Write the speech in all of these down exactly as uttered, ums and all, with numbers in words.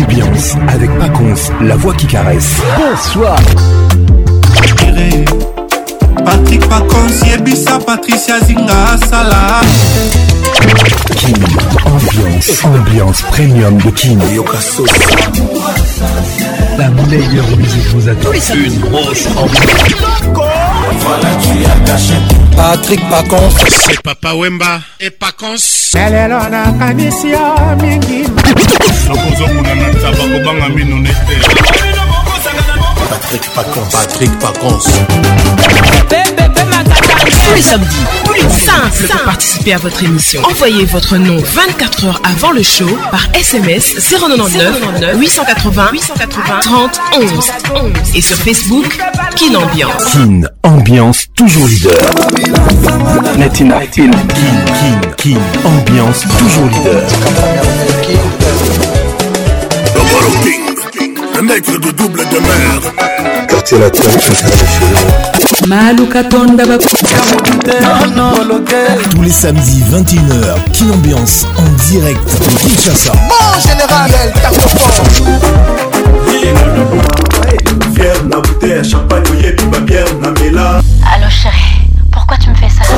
Ambiance avec Paconce, la voix qui caresse. Bonsoir. Patrick Paconce, Yebisa, Patricia Zinga, Salah. Kin, ambiance, ambiance premium de Kin. La meilleure musique vous attend. Une grosse ambiance. Voilà, tu as caché. Patrick Paconce. C'est Papa Wemba et Paconce. Patrick Paconce. Patrick Paconce. Tous les samedis, tous les simples pour participer à votre émission. Envoyez votre nom vingt-quatre heures avant le show par S M S zéro neuf huit cent quatre-vingts huit cent quatre-vingts trente onze et sur Facebook Kin Ambiance. Kin Ambiance toujours leader. Latina Kin Kin Kin Ambiance toujours leader. King, le maître de double de mer. Quartier latin, tous les samedis vingt et une heures, Kin Ambiance en direct de Kinshasa. Mon général, Fier, la bouteille, champagne, oyebi, ma bière, na mela. Allô chérie, pourquoi tu me fais ça?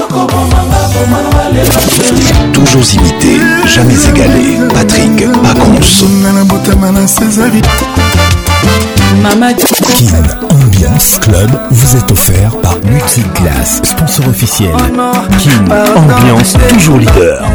Toujours imité, jamais égalé. Patrick Paconce. Kin Ambiance Club vous est offert par Multiclass, sponsor officiel. Kin Ambiance toujours leader.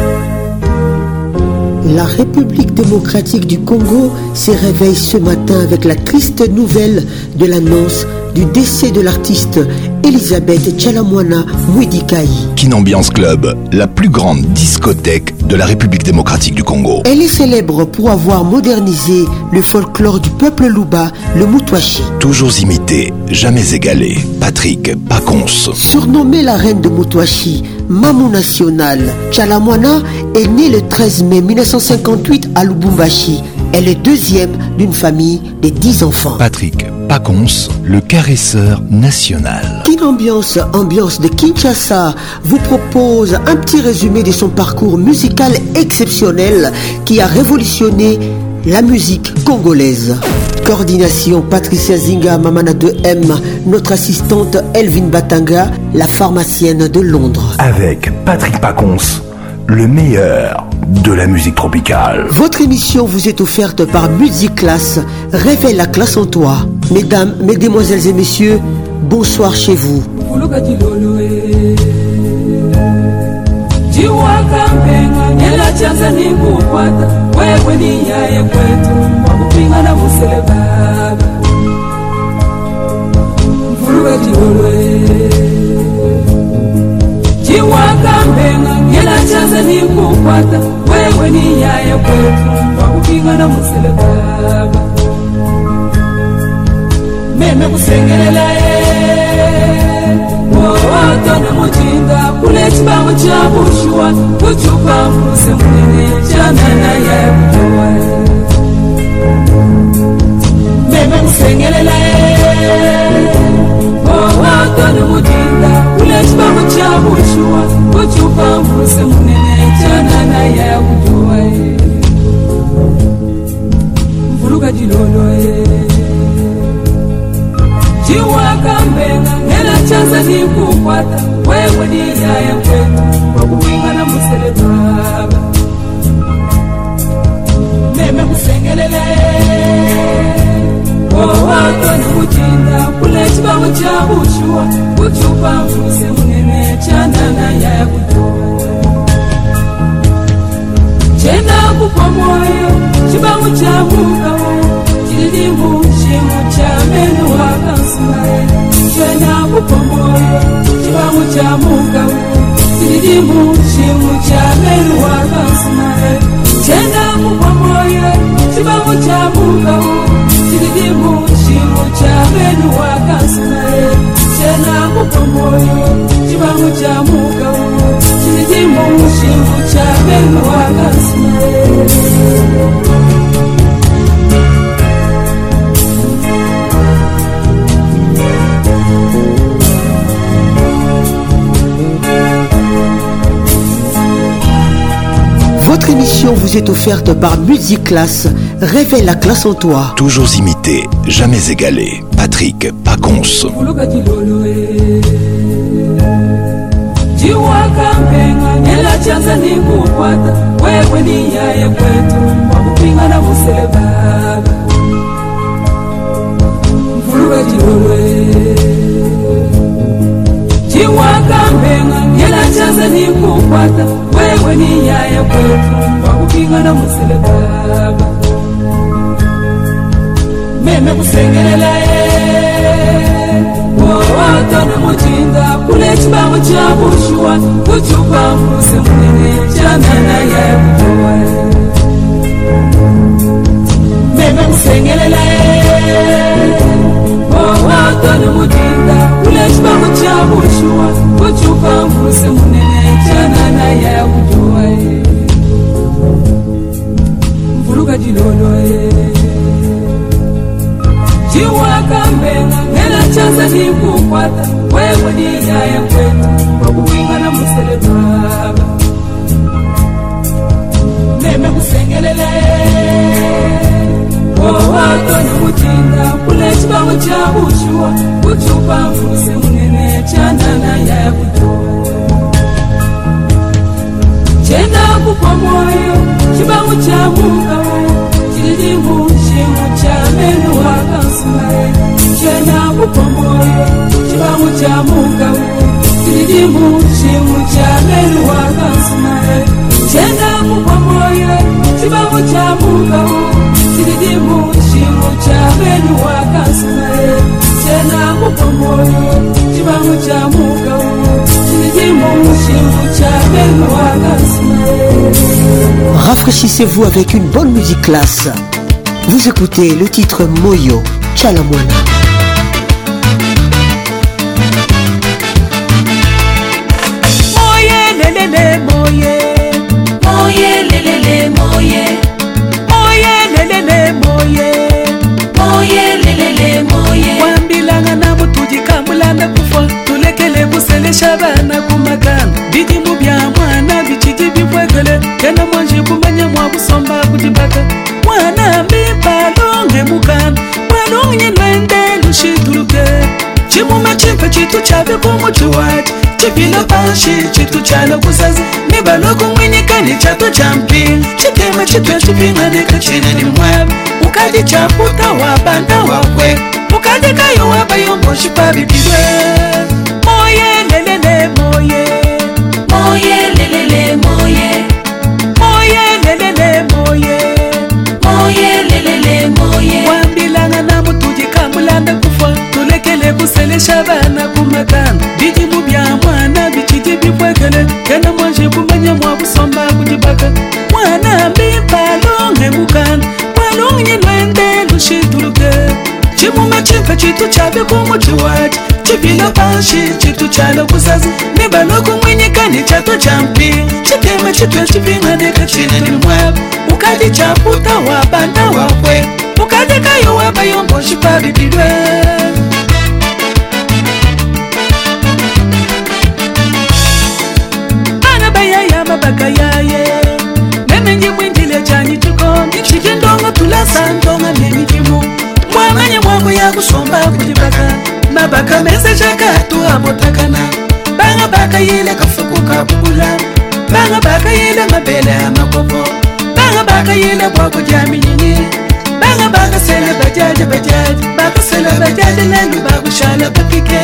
La République démocratique du Congo se réveille ce matin avec la triste nouvelle de l'annonce du décès de l'artiste Elisabeth Tchalamwana Mwidikai. Kin Ambiance Club, la plus grande discothèque de la République démocratique du Congo. Elle est célèbre pour avoir modernisé le folklore du peuple Luba, le Mutwashi. Toujours imité, jamais égalé. Patrick Paconce. Surnommée la reine de Mutwashi, Mamou nationale, Tchalamwana est née le treize mai mille neuf cent cinquante-huit à Lubumbashi. Elle est deuxième d'une famille de dix enfants. Patrick Paconce, le caresseur national. Kin Ambiance, ambiance de Kinshasa, vous propose un petit résumé de son parcours musical exceptionnel qui a révolutionné la musique congolaise. Coordination Patricia Zinga, Mamana deux M, notre assistante Elvin Batanga, la pharmacienne de Londres. Avec Patrick Paconce, le meilleur de la musique tropicale. Votre émission vous est offerte par Multiclass. Révèle la classe en toi. Mesdames, mesdemoiselles et messieurs, bonsoir chez vous. Chaza ni kukwata wewe ni yaye kwetu wakupinga na musele baba meme kusengelela e wowoto na mujinga kule chibango cha bushwa kuchupa mfuse munene chana na yaye kutoa meme kusengelela e wowoto na mujinga kule chibango cha bushwa kuchupa mfuse munene chana na yaye kutoa mvuruga dilolo e Jiwaka mbenga ngela chaza ni kukwata wewe ni yaye kwetu wakuwinga na musele baba meme kusengelele wowoto ni mujinda kule chibango cha bushwa kuchupa mfuse munene chana na yaye kutoa chena kupa moyo chibango cha muka Chilimu shimu cha menu wakasumae Chena kupomoyo chibangu cha muka Chilimu shimu cha menu wakasumae Chena kupomoyo chibangu cha muka Chilimu shimu cha menu wakasumae Chena kupomoyo chibangu cha muka Chilimu shimu cha menu wakasumae Votre émission vous est offerte par Multiclass. révèle la classe en toi. Toujours imité, jamais égalé. Patrick Pacons. Jiwakambenga ngela chaza ni kukwata wewe ni yaya kwetu wakupingana musele baba meme kusengelela ye wotone mujinga kule chibamu cha bushwa kuchupa muse munene chanana ya kutoa meme kusengelela ye wotone mujinga kule chibamu cha bushwa kuchupa muse munene chanana ya kutoa mvuruga jilolo ye Jiwakambenga ngela chaza ni kukwata wewe ni yaya kwetu wakupingana musele baba meme kusengelele wotone mujinga kule chibamu cha bushwa kuchupa mfuse munene chanana ya kutoa chenda kupa moyo chibamu cha mukawe chilijimu shimu cha menu wakasumae chenda kupa moyo chibamu cha mukawe chilijimu shimu cha menu wakasumae chenda kupa moyo chibamu cha mukawe chilijimu shimu cha menu wakasumae chenda kupa moyo chibamu cha mukawe chilijimu shimu cha menu wakasumae. Rafraîchissez-vous avec une bonne musique classe. Vous écoutez le titre Moyo Chalamwana. Moye lelele moye, moye lelele moye, moye lelele moye, moye lelele moye. Wambilanga na mutuji kamulana kufa, tulekele musele shabana kumakana. Bidi mubya mwana bichiji bibwekele, kena mwanji kumanya mwabusomba kujibaka. Mwana mbibalonge mukana, mwanonye lwende lushituluke. Chimume chimpe chitu chabe kumuchuwaji, chipila panshi chitu chala kusazi. Nibaloku mwinyikani chatu champi, chitema chitu chipingane kachina ni mwabu. Ukadi chaputa wabanda wakwe, ukadi kayo wabayo moshi pabibidwe. Moye lelele moye, moye lelele moye, moye lelele moye, moye lelele moye. Wambilanga na mutuji kamulanda kufa, tulekele kusele shabana kumakana. Biji mubya mwana bichiji bibwekele, kena mwanji kumanya mwabusomba kujibaka. Mwana mbibalonge mukana, mwanonye lwende lushituluke. Chimume chimpe chitu chabe kumuchuwaji, chipila panshi chitu chala kusazi. Nibaloku mwinyikani chatu champi, chitema chitu chipingane kachina ni mwabu. Ukadi chaputa wabanda wakwe, ukadi kayo wabayo mboshi pabibidwe. Bana baya ya mabaka yaye, nemenye mwindile chani tuko, chikindonga tulasa ndonga nemikimu. Mwamanye mwako ya kusomba kujibaka, mabaka mese chaka tu abotakana. Banga baka yile kafuku kabula, banga baka yile mabele amakopo, banga baka yile mwako jami nyinyi, banga baka sele bajaji bajaji, baka sele bajaji lelu baku shala bakike.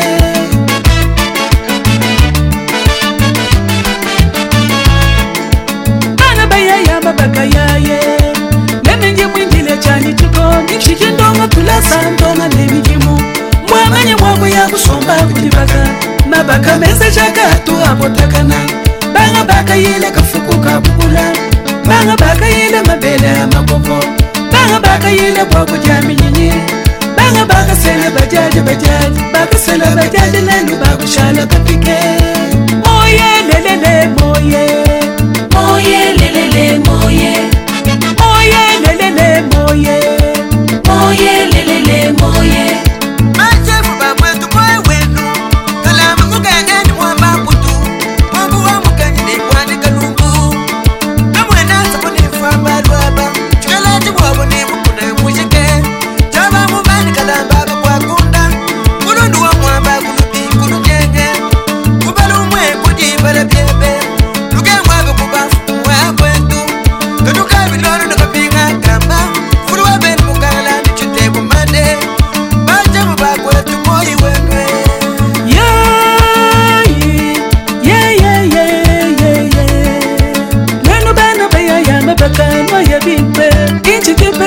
Bana baya ya mabaka yaye, nemenye mwindile chani tuko, chikindonga tulasa ndonga nemikimu. Mwamanye mwako ya kusomba kujibaka, mabaka mese chaka tu abotakana. Banga baka yile kafuku kabula, banga baka yile mabele amakopo, banga baka yile mwako jami nyinyi, banga baka sele bajaji bajaji, baka sele bajaji lelu baku shala bakike. Moye lelele moye, moye lelele moye, moye lelele moye, moye lelele moye. Machefu babwetu mwe wenu, kalama kugangani mwamba kutu, mwambu wa mukani ni kwani kalungu. Kamwe nasa kunifa mbaluaba, chukalati wabo ni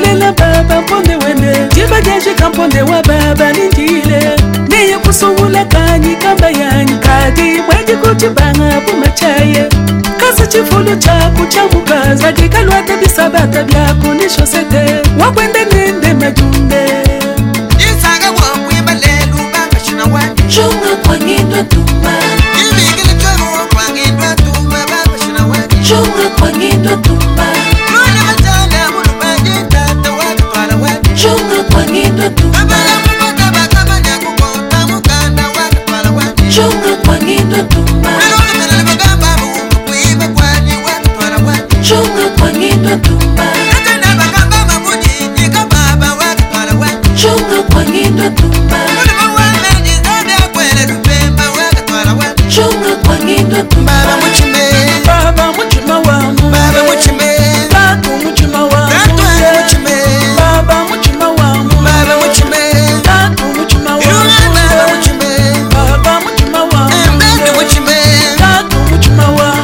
Nalela baba mponde wende Jibageje kamponde wa baba nindile Neye kusungula kanyi kamba yani Kadi mweji kuchibanga pumachaye Kasa chifulu chaku chamukaza Kikalwata bisabata byako nisho sete Wakwende nende majunde Isaga wakwimba lelu baba shina wadi Chunga kwa ngindo tumba Ilmigili choro kwa ngindo tumba baba shina wadi Chunga kwa ngindo tumba Mwana matala munu baje tata wadi twala wadi Chunga kwa ngindo tumba Babala mubota baka manya kukota mukanda wadi twala wadi Chunga kwa ngindo tumba Nalole melele bagamba mungu kuiba kwani wadi twala wadi Chunga kwa ngindo tumba Katenda bagamba mabuji nika baba wadi twala wadi Chunga kwa ngindo tumba Mwana mawana jizabe akwele lupemba wadi twala wadi Chunga kwa ngindo tumba Baba muchime Baba muchima wamu Baba muchime Tatu muchima wamu Tatu muchime Baba muchima wamu Baba muchime Tatu muchima wamu Baba muchime Baba muchima wamu Embedu muchime Tatu muchima wamu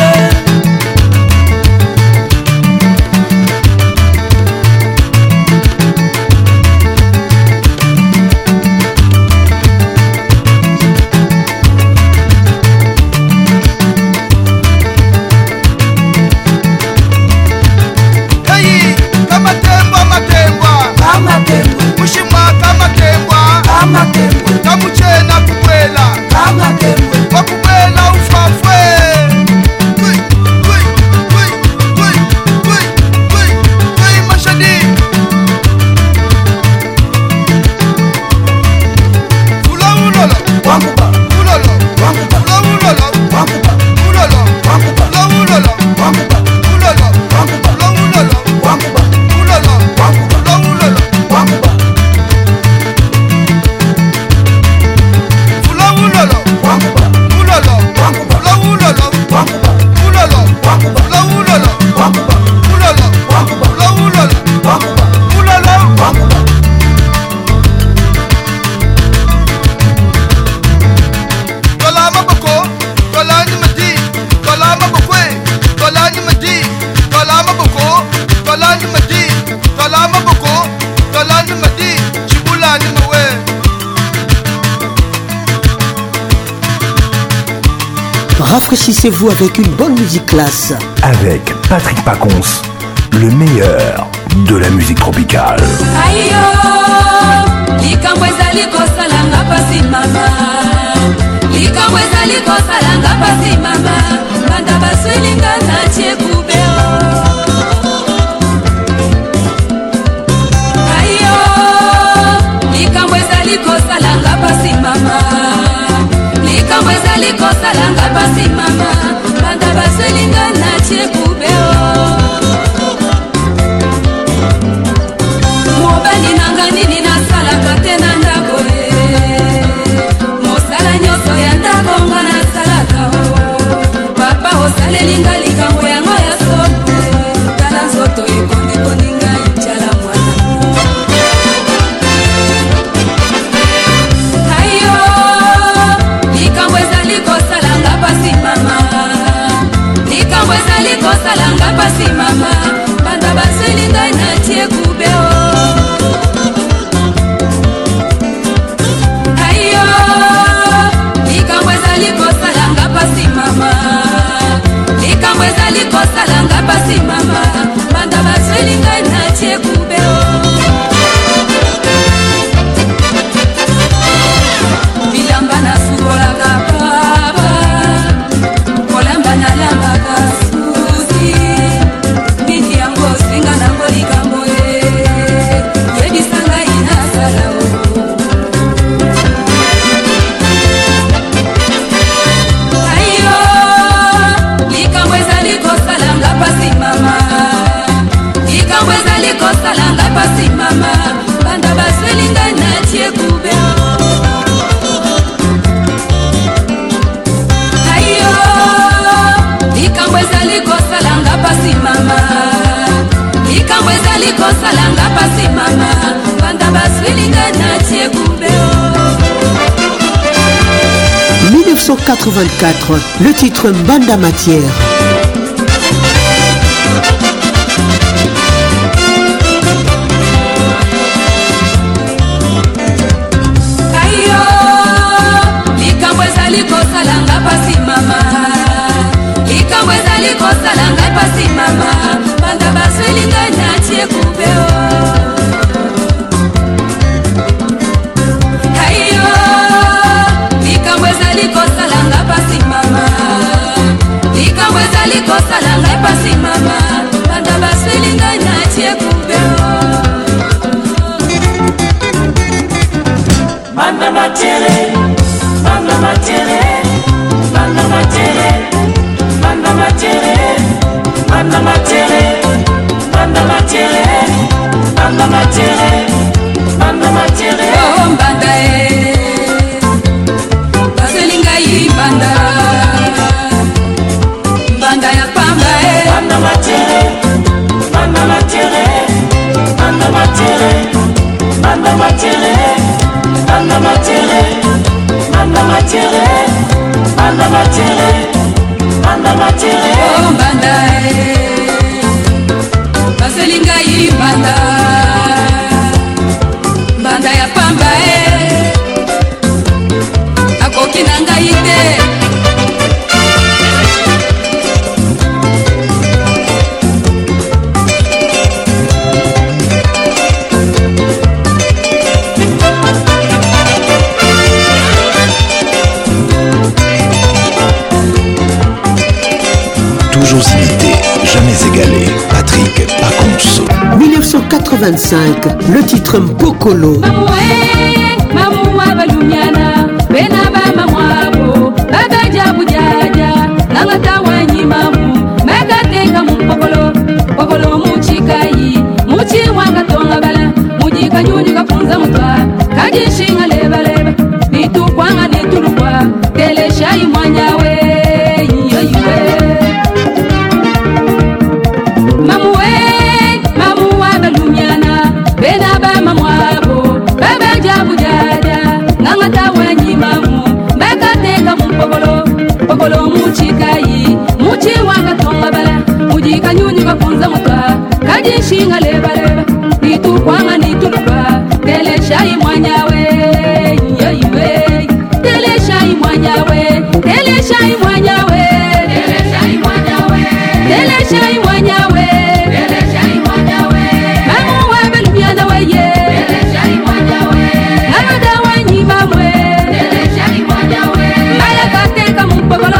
Hey, kama tembwa matembwa Kama tembo Mushimwa kama tembwa Kama tembo Kamuchena kubwela Kama tembo Wakubwela ufafwe Kwi, kwi, kwi, kwi, kwi, kwi, kwi, mashadi Fula ulolo Wanguba Ulolo Wanguba Fula ulolo Wanguba Ulolo Wanguba Fula ulolo Wanguba Ulolo Wanguba Fula ulolo Wanguba Ulolo Wanguba Fula ulolo Wanguba Fula ulolo Wanguba Ulolo Wanguba Fula ulolo Wanguba Ulolo Wanguba Fula ulolo Wanguba Ulolo Wanguba Fula ulolo Wanguba Ulolo Wanguba Tola maboko Tola ni madi Tola mabokwe Tola ni madi Tola maboko Tola ni madi Tola maboko Tola ni madi Chibula ni mawe Rafraîchissez-vous avec une bonne musique classe. Avec Patrick Pacons, le meilleur de la musique tropicale. Ayo, likambo ezali kosalanga pasi mama likambo ezali kosalanga pasi mama banda baswelinga natie kubeo ayo likambo ezali kosalanga pasi mama likambo ezali kosalanga pasi mama banda baswelinga natie kubeo mobali nanga nini nasalaka te na ndako e mosala nyonso ya ndako nga nasalaka o papa osalelinga likambo yango ya somo tala nzoto ekondekoni ngai tyala mwana ayo likambo ezali kosalanga pasi mama likambo ezali kosalanga pasi mama banda basweli ngai natie kubeo ayo likambo ezali kosalanga pasi mama likambo ezali kosalanga pasi mama banda basweli ngai natie kubeo bilamba nasukolaka baba kolamba nalambaka susi mingi yango singa nango likambo e yebisa ngai nasala o ayo likambo ezali kosalanga pasi mama likambo ezali kosalanga pasi mama banda basweli ngai natie kubeo ayo likambo ezali kosalanga pasi mama likambo ezali kosalanga pasi mama banda basweli ngai natie kubeo mille neuf cent quatre-vingt-quatre, le titre Mbanda Matière. matere, manda matere, manda matere, manda matere, manda matere, manda matere, manda matere, manda matere. Oh mbanda e, baselinga yi mbanda, mbanda ya pamba e. Manda matere, manda matere, manda matere, manda matere, manda matere, manda matere, manda matere, manda matere. Oh mbanda e, baselinga yi mbanda, mbanda ya pamba e, akoki nanga ite. Toujours imité, jamais égalé, Patrick Pacons. mille neuf cent quatre-vingt-cinq, le titre Mpokolo. Pokolo muchikai, muchi wanga tonga bala, mujika nyunyi kafunza mutwa, kaji shinga leba leba, nitu kwanga nitu lukwa, tele shai mwanyawe, yoyiwe, tele shai mwanyawe, tele shai mwanyawe, tele shai mwanyawe, tele shai mwanyawe, tele shai mwanyawe, mamu wabe lumiana weye, tele shai mwanyawe, namada wanyi mamwe, tele shai mwanyawe, maya kate kamu pokolo.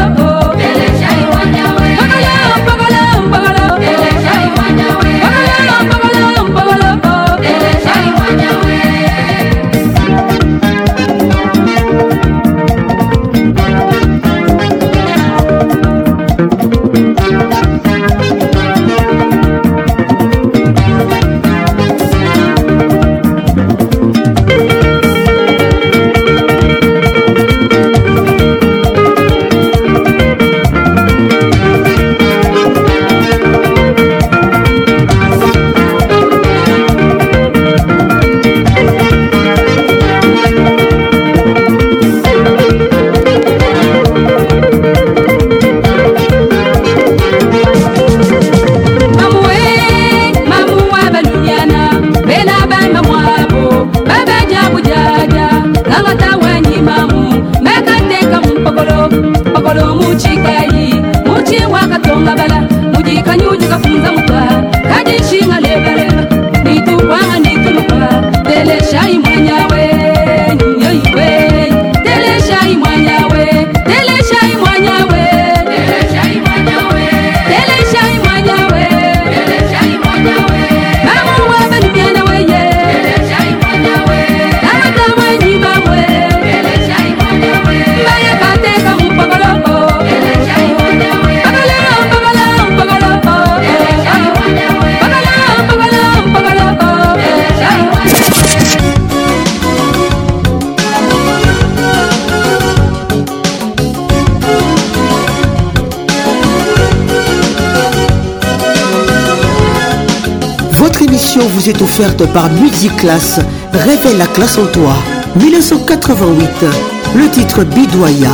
Vous est offerte par Musiclass, révèle la classe en toi. mille neuf cent quatre-vingt-huit, le titre Bidoya.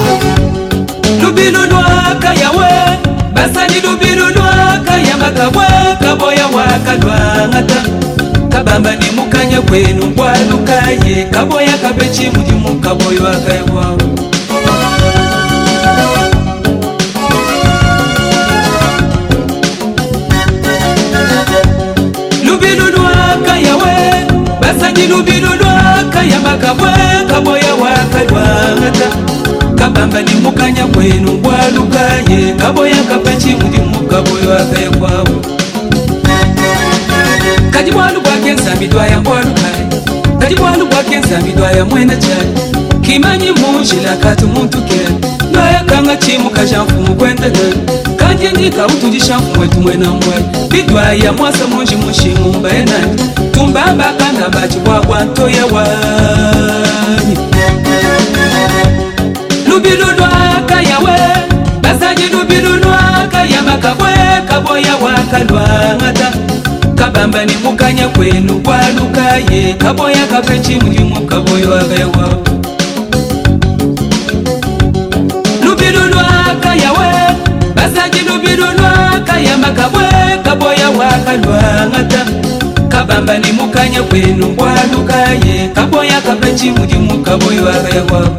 Lubilulwa kayawe, basani lubilulwa kayamakawe, kaboya wakalwa ngata. Kabamba ni mukanya kwenu bwalukaye, kaboya kabechi mudi mukaboyo akayewa. Lubilulwa kayamakawe, kaboya wakalwa ngata. Kabamba ni mukanya kwenu bwalukaye, kaboya kabechi mudi mukaboyo akayewa. Kajibwalu bwakenza midwaya bwalukaye, kajibwalu bwakenza midwaya mwena chali. kimanyi munjila kati muntu ke noya kanga chimu kashamfumu kwendele kanje ndika utujishamfumu wetu mwena mwe bidwa ya mwasa munji mushimu mbaenani tumbamba kanda bachi wakwa ntoye wani lubilulwa kayawe basaji lubilulwa kayama kabwe kaboya wakalwa ngata kabamba ni mukanya kwenu kwalukaye kaboya kapechi mulimu kaboya wagayawa lubilulwa kayawe basaji lubilulwa kayama kabwe kaboya wakalwa ngata kabamba ni mukanya kwenu kwalukaye kaboya kapechi mulimu kaboya wagayawa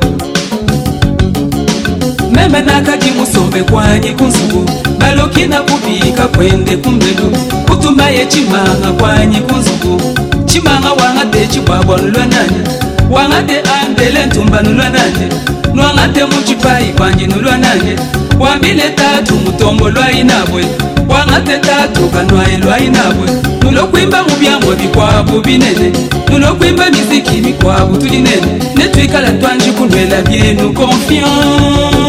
meme nakaji musombe kwanyi kunzugu balokina kubika kwende kumbelu kutumbaye chimanga kwanyi kunzugu chimanga wangate chibwabwa nulwananye wangate ambele ntumba nulwananye nwangate muchipai kwanyi nulwananye wambile tatu mutombo lwainabwe wangate tatu kanwaye lwainabwe nulokwimba mubyangwa bikwabu binene nulokwimba miziki mikwabu tulinene netwikala twanji kunwela byenu confiance.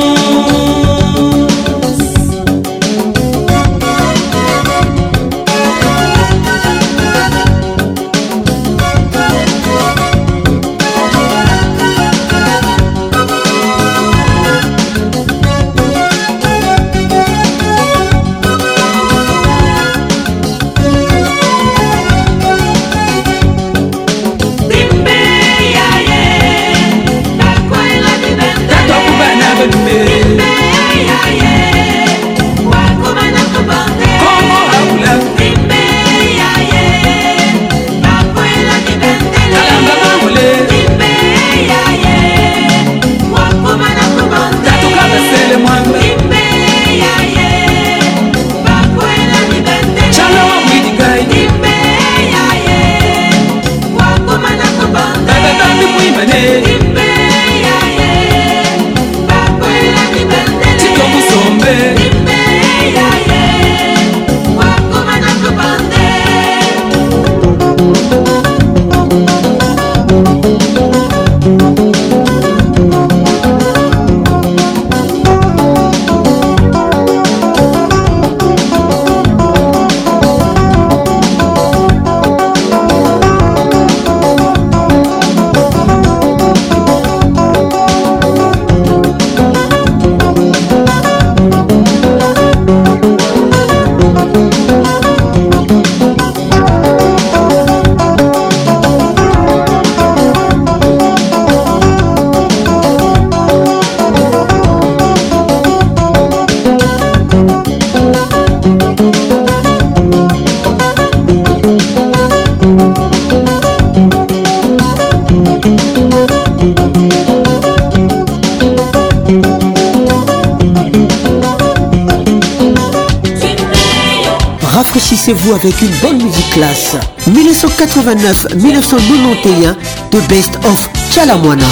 Rafraîchissez-vous avec une bonne musique classe. mille neuf cent quatre-vingt-neuf à mille neuf cent quatre-vingt-onze, The Best of Chalamwana.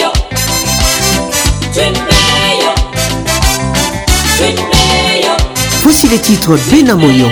Voici les titres Benamoyo.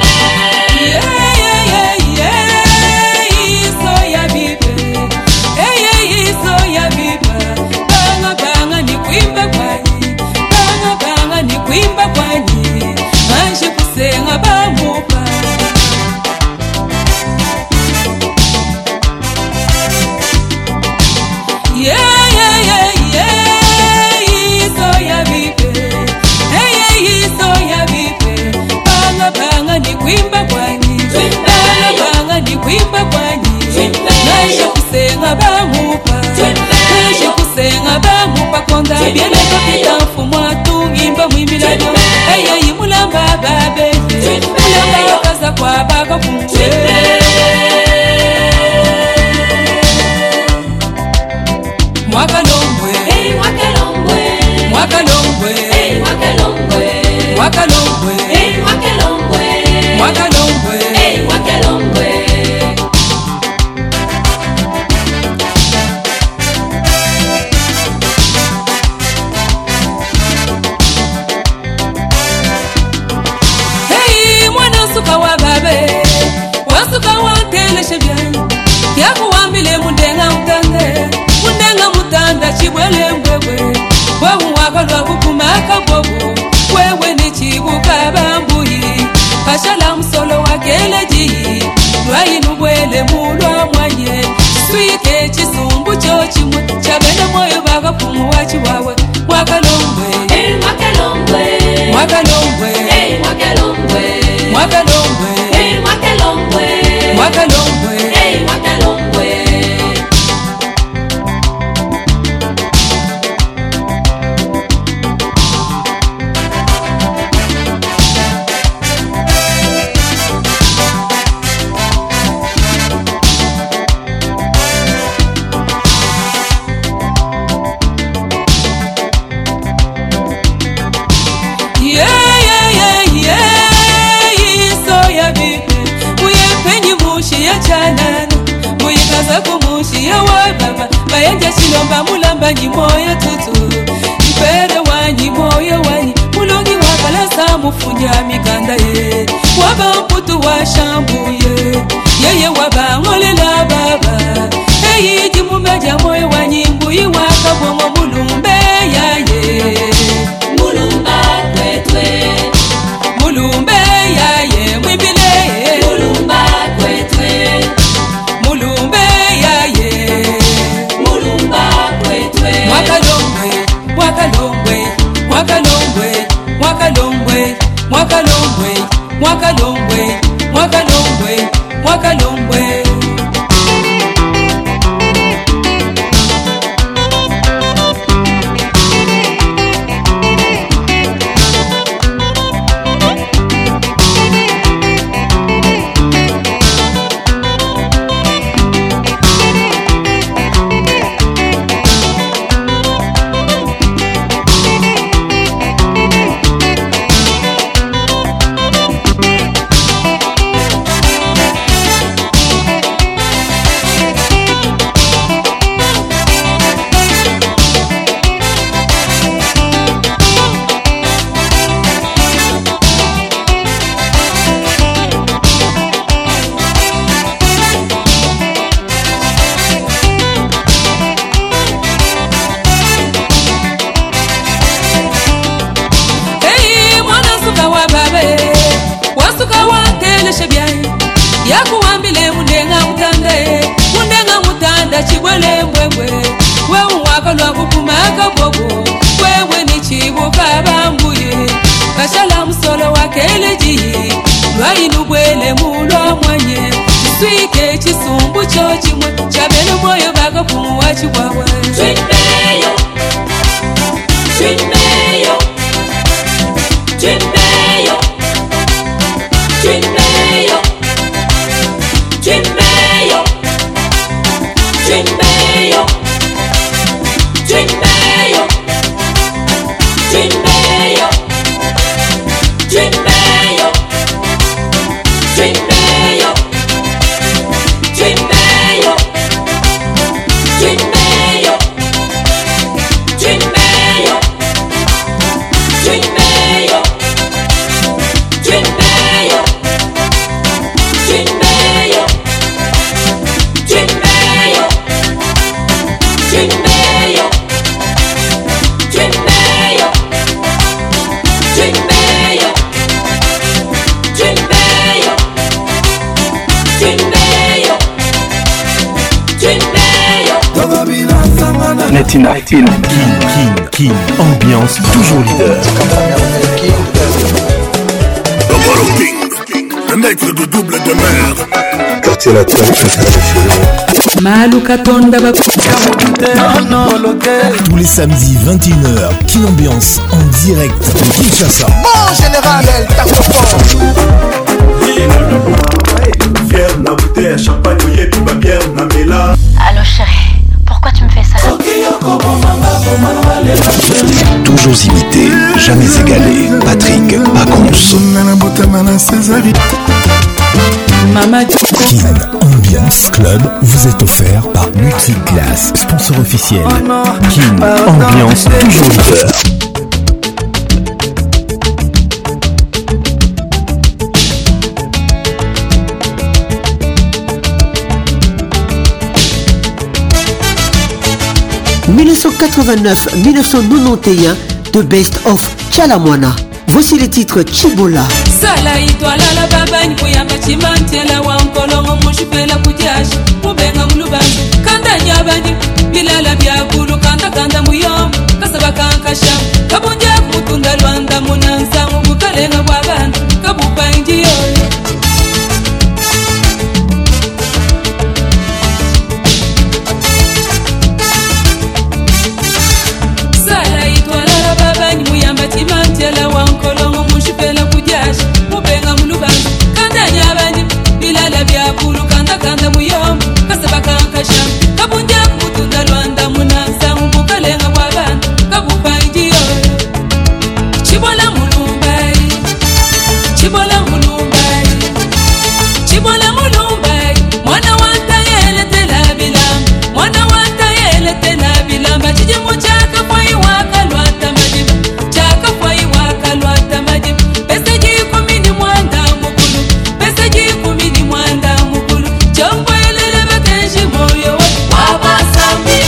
bwele mulwa mwanye swike chisumbu cho chimwe chabene moyo bakapumuwa chiwawe mwakalongwe hey mwakalongwe mwakalongwe hey mwakalongwe mwakalongwe hey mwakalongwe mwakalongwe hey mwakalongwe Bayanja chilomba mulamba nyimoyo tutu Mpere wanyi moyo wanyi Mulongi wakala samu funya mikanda ye Waba mputu wa shambuye Yeye waba ngolela baba Eyi jimumeja moyo wanyi Mbuyi waka bongo mulumbe ya ye Mulumba kwetwe Mulumbe ya ye Mwibile Mulumba kwetwe Mulumbe ya ye Mwakalongwe, mwakalongwe, mwakalongwe, mwakalongwe, mwakalongwe, mwakalongwe, mwakalongwe, mwakalongwe. Yakuambile mundenga mutande mundenga mutanda chibwele mbwembwe wewe wakalwa kukumaka bobo wewe ni chibuka bambuye kashala msolo wakeleji lwainu bwele mulwa mwanye swike chisumbu cho chimwe chabene moyo bakapumuwa chiwawe Twinmeyo Twinmeyo Twinmeyo Twinmeyo Twinmeyo, Twinmeyo, Twinmeyo, Twinmeyo, Twinmeyo, Twinmeyo, Twinmeyo, Twinmeyo, Twinmeyo, Twinmeyo, Twinmeyo, Twinmeyo. Twinmeyo, Twinmeyo, Twinmeyo, Twinmeyo, Twinmeyo, Twinmeyo, Twinmeyo. Netina, Kin, Kin, Kin, ambiance toujours leader. Le maître de double de mer. Quartier latin, Malukatonda Tous les samedis vingt et une heures, Kin Ambiance en direct de Kinshasa. Bon général, t'as fier na bouteille, champagne, oyebi ba bière na mela. Allô chérie, pourquoi tu me fais ça? Toujours imité, jamais égalé. Patrick Pacons. Kin Ambiance Club vous est offert par Multiclass, sponsor officiel. Kin Ambiance toujours leader. mille neuf cent quatre-vingt-neuf à mille neuf cent quatre-vingt-onze, The Best of Chalamwana. Voici les titres Chibola. Sala itwala la babani kuyamba chimantela wa nkolongo mushipela kujashi mubenga mulubanzi kanda nyabani bilala byakulu kanda kanda muyo kasaba kankasha kabunja kumutunda lwanda munanza mubukalenga bwabana kabupa injiyo. Sala itwala la babani muyamba chimantela wa nkolongo mushipela kujashi mubenga mulubanzi kanda nyabani bilala byakulu kanda kanda muyo kasaba kankasha kabunja kumutunda lwanda munanza mubukalenga bwabana kabupa injiyo. Chibola mulumbai Chibola mulumbai Chibola mulumbai mwana wanta yele tela bilam mwana wanta yele tela bilam bachije muchaka kwa iwaka lwata majibu chaka kwa iwaka lwata majibu pesa jiku mini mwanda mukulu pesa jiku mini mwanda mukulu chombo ilele bakenshi moyo wa wabasami.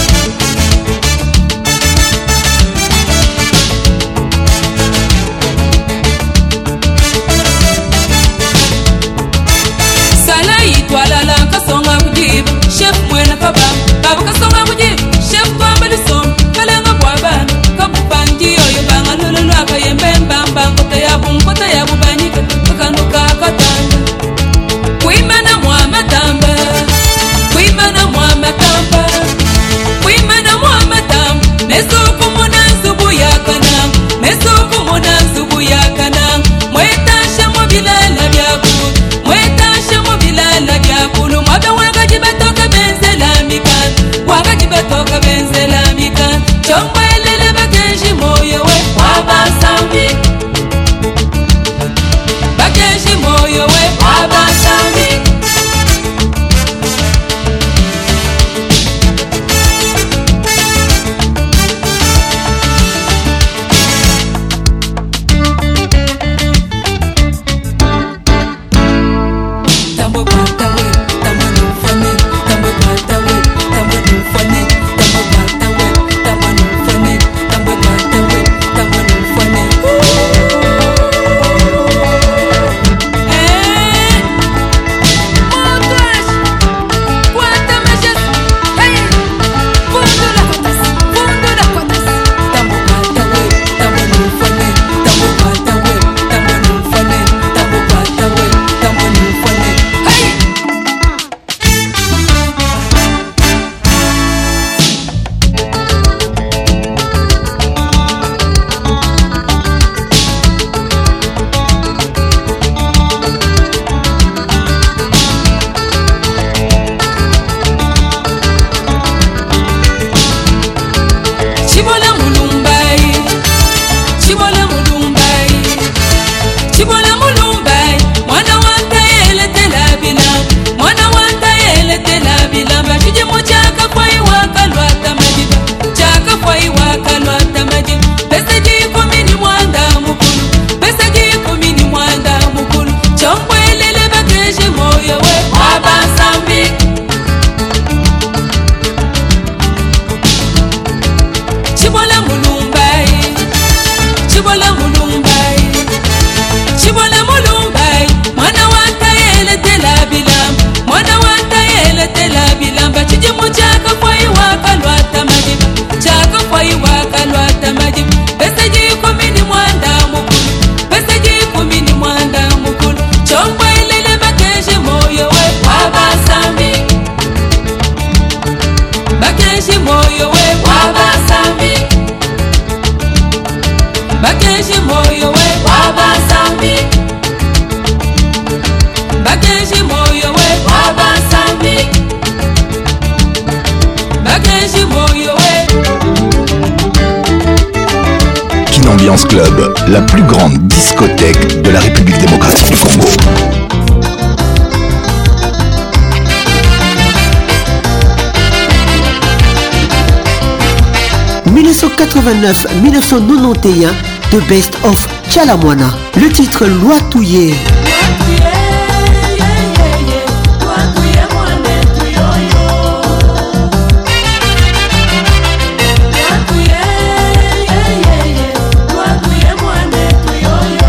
Sala itwala la kasonga kujibu chef mwena kaba babu kasonga kujibu chef kwamba lisom kalenga bwabana kabupangi yoyo banga lulu aka yembe mbamba nkota yabu nkota yabu banyika kakanduka katanda kuimana mwa matamba kuimana mwa matamba kuimana mwa matamba nesuku muna nsubu yakana nesuku muna nsubu yakana mwetasha mobilala byakulu mwetasha mobilala byakulu mwabe wanga jibatoka benzela mikan wanga jibatoka benzela mikan chombo elele bakenshi moyo we wabasami bakenshi moyo we wabasami. Tambo kwata we tambo nufane tambo kwata we tambo nufane tambo kwata we tambo nufane tambo kwata we tambo nufane. Eh Montrash kwata meshes hey fundo la kotas fundo la kotas tambo kwata we tambo nufane tambo kwata we tambo nufane tambo kwata we tambo nufane hey. Chibola mulumbai Chibola mulumbai Chibola mulumbai mwana wanta yele tela bilam mwana wanta yele tela bilam bashije muchaka kwa iwaka lwata majibu chaka kwa iwaka lwata majibu pesa jiku mini mwanda mukulu pesa jiku mini mwanda mukulu chombo elele bakenshi moyo we wabasami. Chibola mulumbai Chibola mulumbai Chibola mulumbai mwana wanta yele tela bilam mwana wanta yele tela bilam bachije muchaka kwa iwaka lwata majibu chaka kwa iwaka lwata majibu pesa jiku mini mwanda mukulu pesa jiku mini mwanda mukulu chombo ilele bakenshi moyo we wabasami bakenshi moyo we wabasami bakenshi moyo we wabasami bakenshi moyo we wabasami bakenshi moyo we. Kin Ambiance Club, la plus grande discothèque de la République démocratique du Congo. mille neuf cent quatre-vingt-neuf à mille neuf cent quatre-vingt-onze, The Best of Chalamwana. Le titre Loi Touye. Yeah.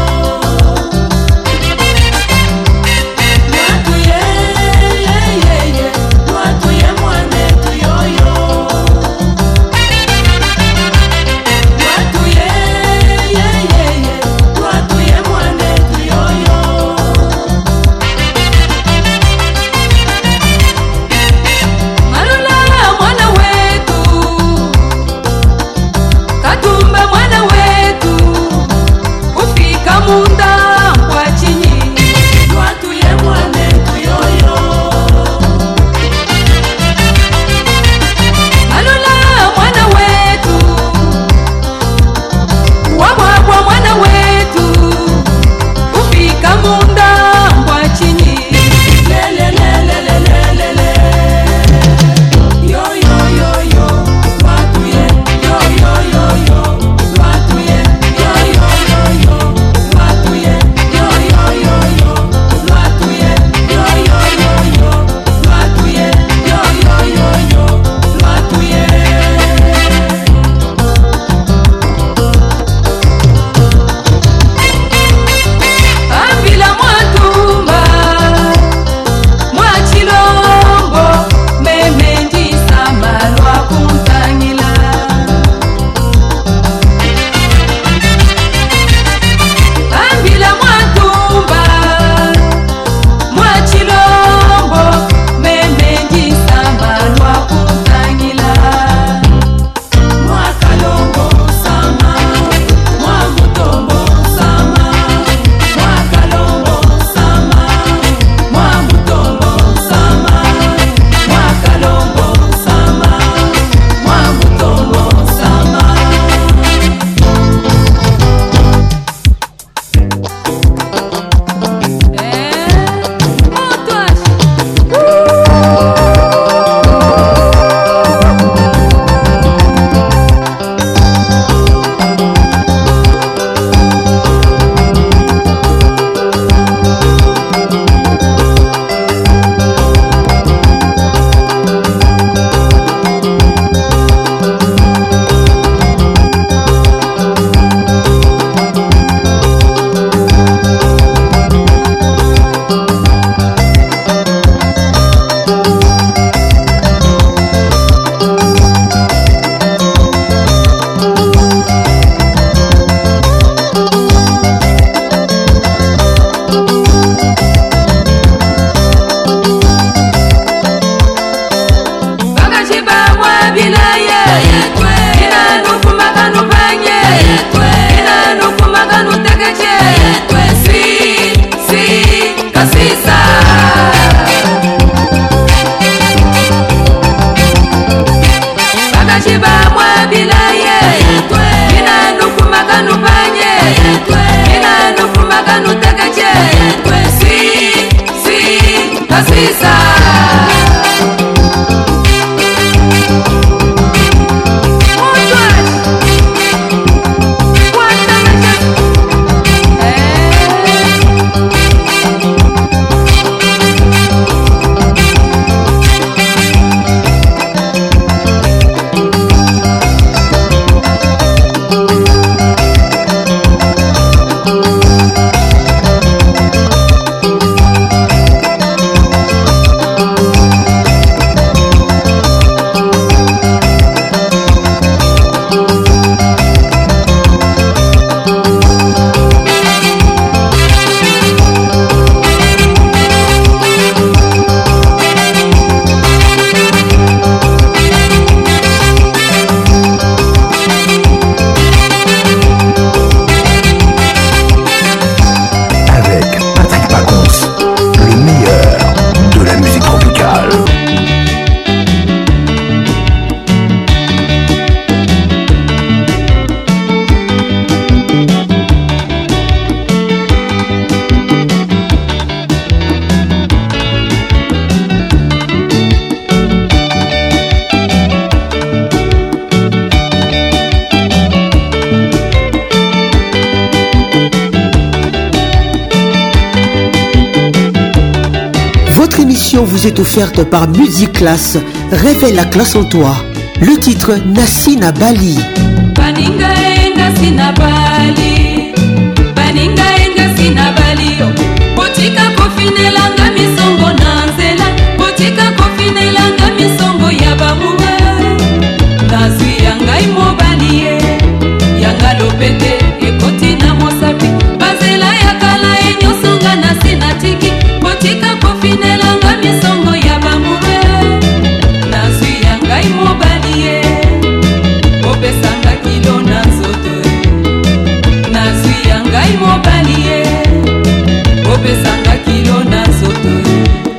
vous est offerte par Music Class. Révèle la classe en toi. Le titre Nassina Bali. Baninga enga sina bali, baninga enga sina bali. Botika kofinelanga misongo nanzela, botika kofinelanga misongo ya bamuwe. Nazwi yanga imo bali yanga lopete ekoti na mosapi. Bazela yakala enyosonga nasina tiki, botika kofinelanga misongo ya bamuwe. Nazwi yanga imo bali opesanga kilo na nzoto. Nazwi yanga imo bali opesanga kilo na nzoto.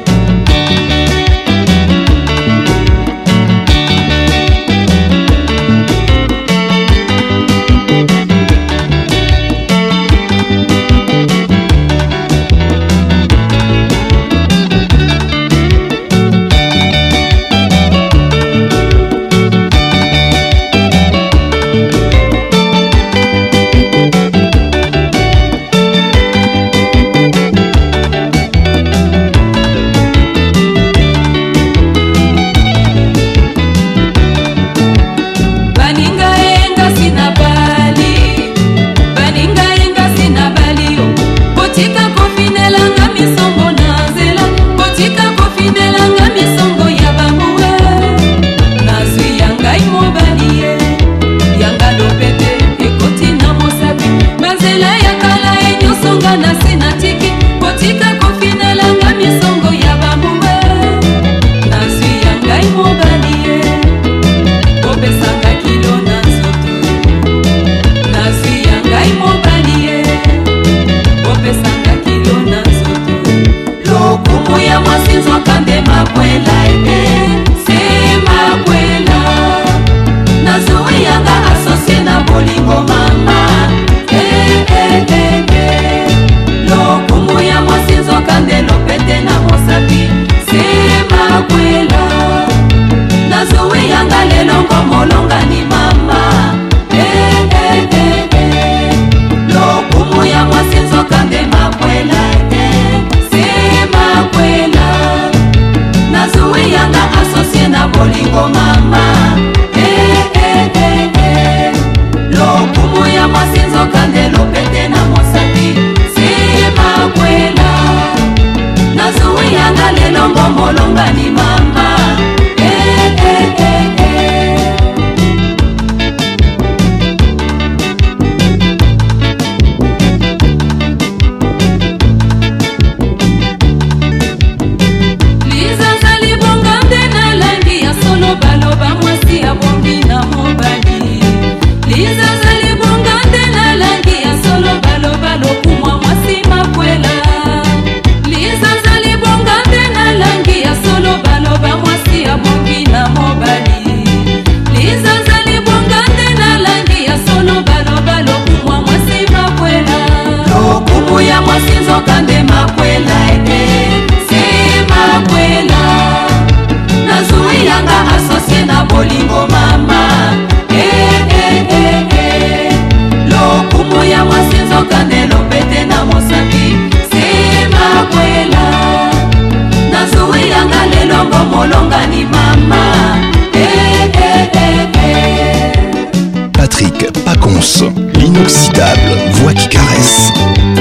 L'inoxydable voix qui caresse.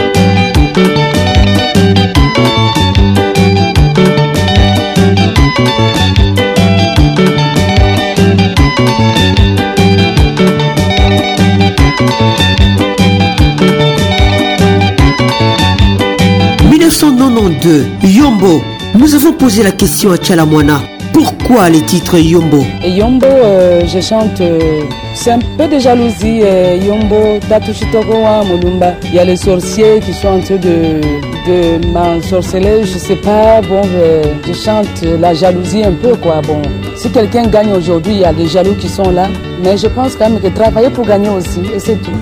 mille neuf cent quatre-vingt-douze, Yombo. Nous avons posé la question à Tchalamwana. Pourquoi les titres Yombo? Et Yombo, euh, je chante, euh, c'est un peu de jalousie. Euh, Yombo, Tatushitokowa, Molumba. Il y a les sorciers qui sont en train de, de m'ensorceler, je sais pas. Bon, euh, je chante la jalousie un peu, quoi. Bon, si quelqu'un gagne aujourd'hui, il y a des jaloux qui sont là. Mais je pense quand même que travailler pour gagner aussi, et c'est tout.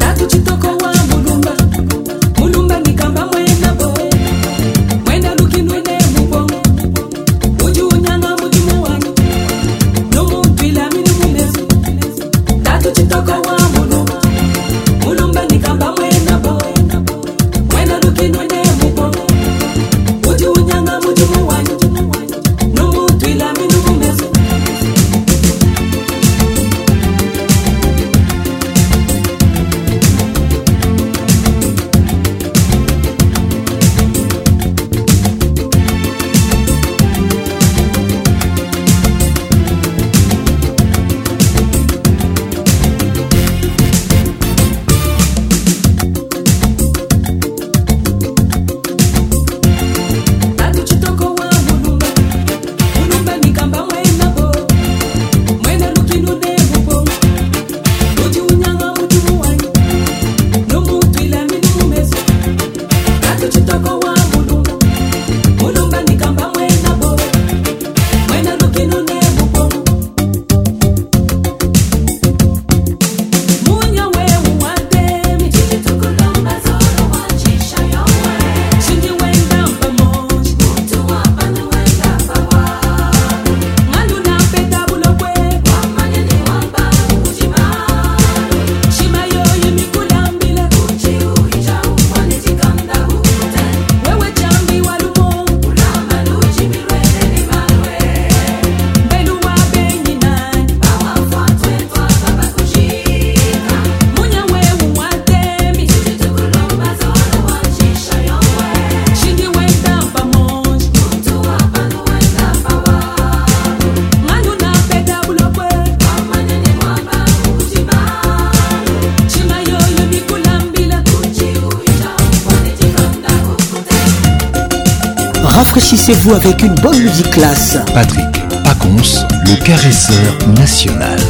Rafraîchissez-vous avec une bonne musique classe. Patrick Pacons, le caresseur national.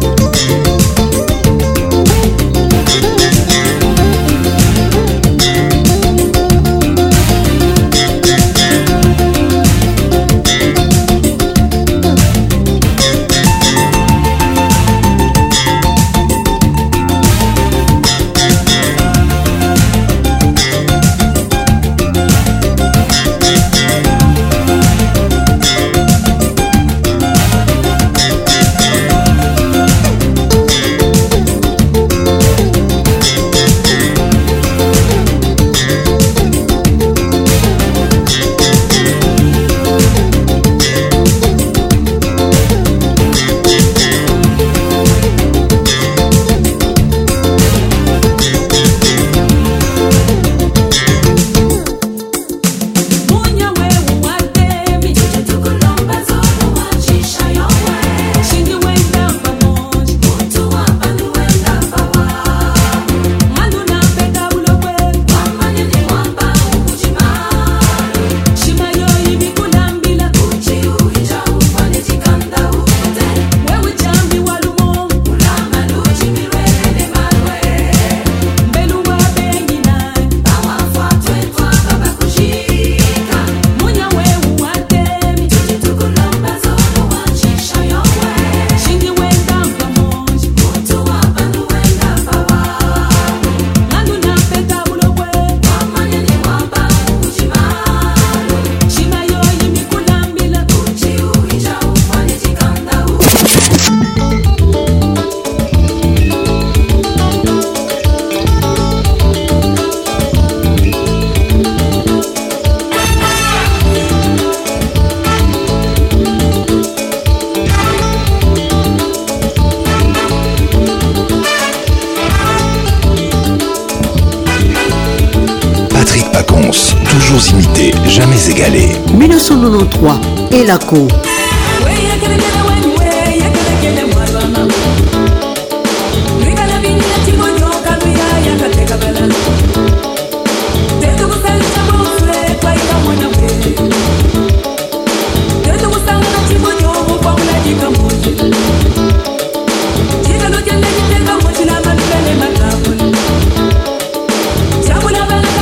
Toujours imité, jamais égalé. mille neuf cent quatre-vingt-treize, Elako.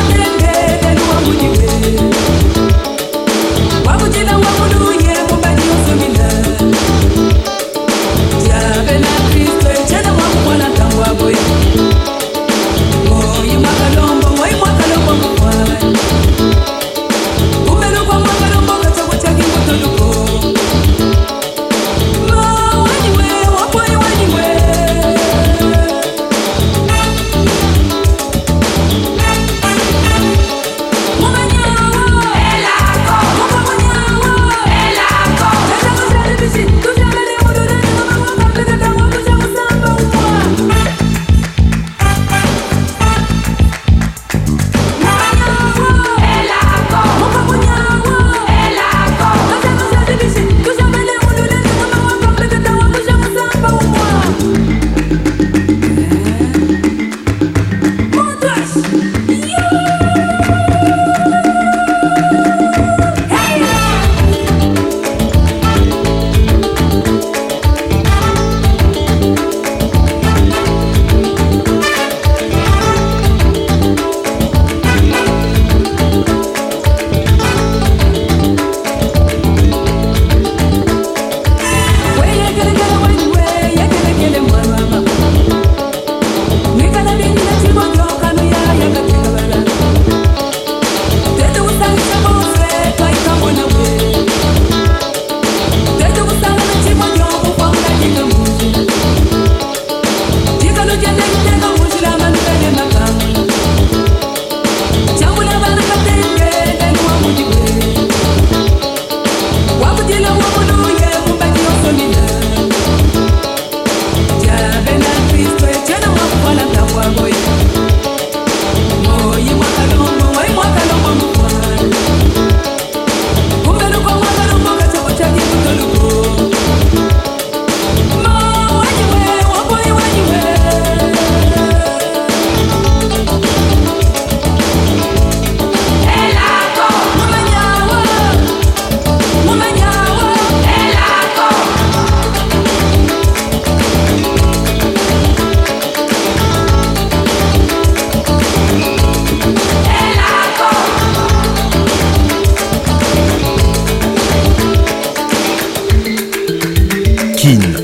Wakuchita wakuduye kumbaji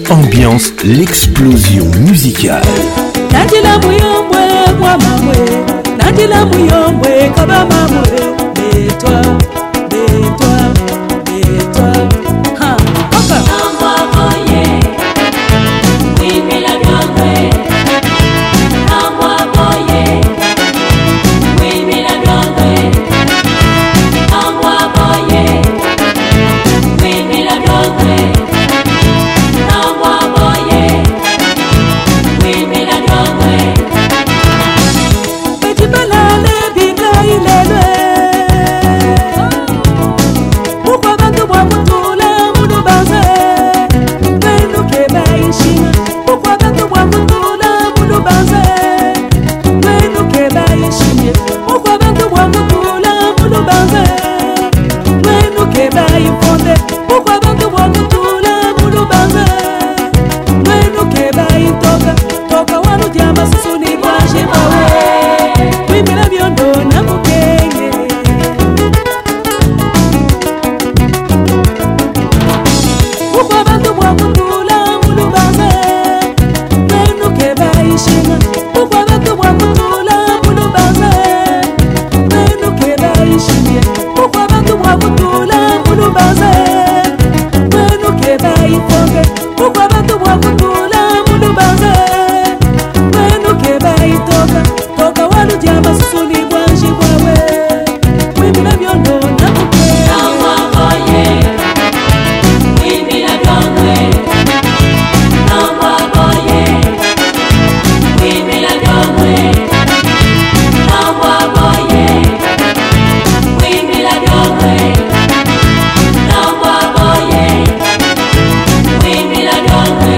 ambiance l'explosion musicale. Nandila muyombwe kwa mamwe, Nandila muyombwe kaba mamwe, Bétoi, Bétoi, Bétoi. Ha, oka. Amwa boye, oui mais la grande. Amwa boye, oui mais la grande. Amwa boye, oui mais la grande. Amwa boye, oui mais la grande. Petit balale binga ilele. Pourquoi bantu bwa mutula mudu banze? Wenu keba ishima. Pourquoi bantu bwa mutula mudu banze? Wenu keba ishima. Pourquoi bantu bwa mutula mudu banze? Wenu keba ifonde. Pourquoi bantu bwa mutula mudu banze? Wenu keba itoka. Toka wanu diamba susuni baje bawe. Wimila biondo na mukenge. Pourquoi bantu bwa mutula mudu banze? Wenu keba ishima. Pourquoi bantu bwa mutula mudu banze? Wenu keba ishima. Pourquoi bantu bwa mutula mudu banze? Wenu keba ifonge. Pourquoi bantu bwa mutula mudu banze? Wenu keba itoka. Toka walu diamba susuni bwanji bwawe. Wimila biondo na mukenge. Amwa boye, wimila biondo. Amwa boye, wimila biondo. Amwa boye, wimila biondo. Amwa boye, wimila biondo.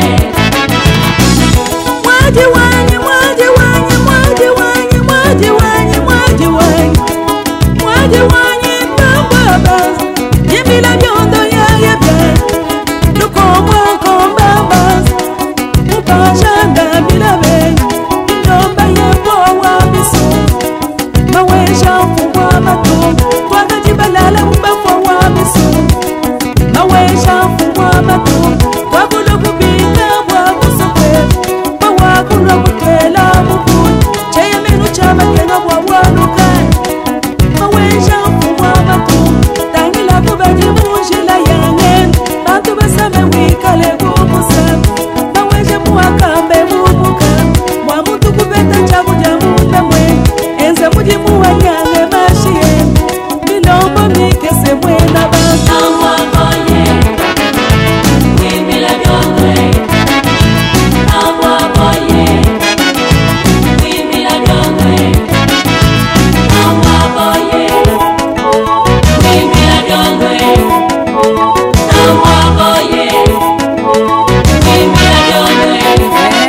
Mwaji wanyi, mwaji wanyi, mwaji wanyi, mwaji wanyi, mwaji wanyi. Mwaji wanyi mbamba, yimila biondo ya yebe. Lukomwa kombamba, mupashanda milabe. Nyomba yebo wa biso, mawesha mfumwa matungu. Twagajibalala mbafwa wa biso, mawesha mfumwa matungu. Wabulu kubika wa busokwe, mawakulu kutela mukuni. Cheye minu chama kena wa wanukai, mawesha mfumwa matungu. Tangila kubaji mujila yangen, bantu basame wikale kumusem. Mawesha muwakambe mubuka, mwamutu kubeta chabu jamupe mwe. Enze muji muwanyange mashie, milombo mikese mwena bantu. Amwa boye, wimila biondo. Amwa boye, wimila biondo. Amwa boye, wimila biondo. Amwa boye, wimila biondo.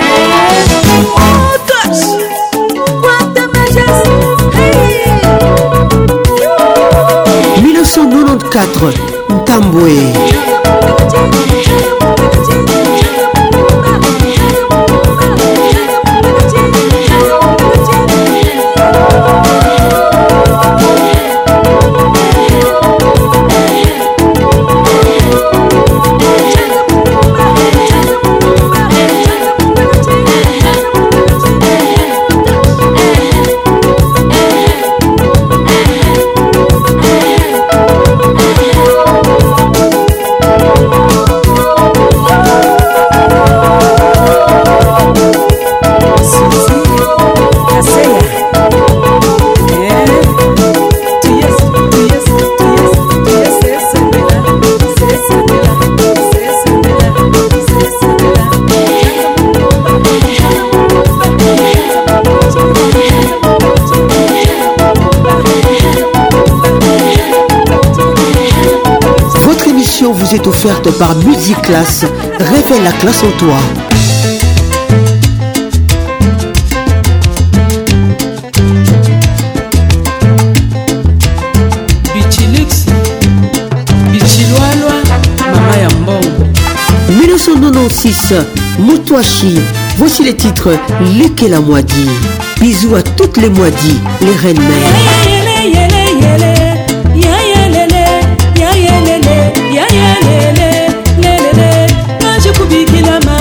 Oh gosh, what the measures? Hey. mille neuf cent quatre-vingt-quatre, Ntambwe. Votre émission vous est offerte par Musiclass. Révèle la classe en toi. Bichilix, Bichiloalwa, Mama Yambongo. mille neuf cent quatre-vingt-seize, Moutouachi. Voici les titres Leke la Moadi. Bisous à toutes les Moadi, les reines mères. Ya ya lele, ya ya lele, lele, lele, maji kubikila ma.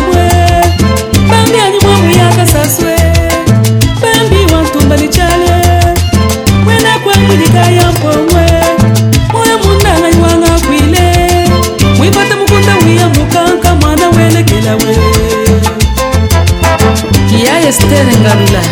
Esther Ngalula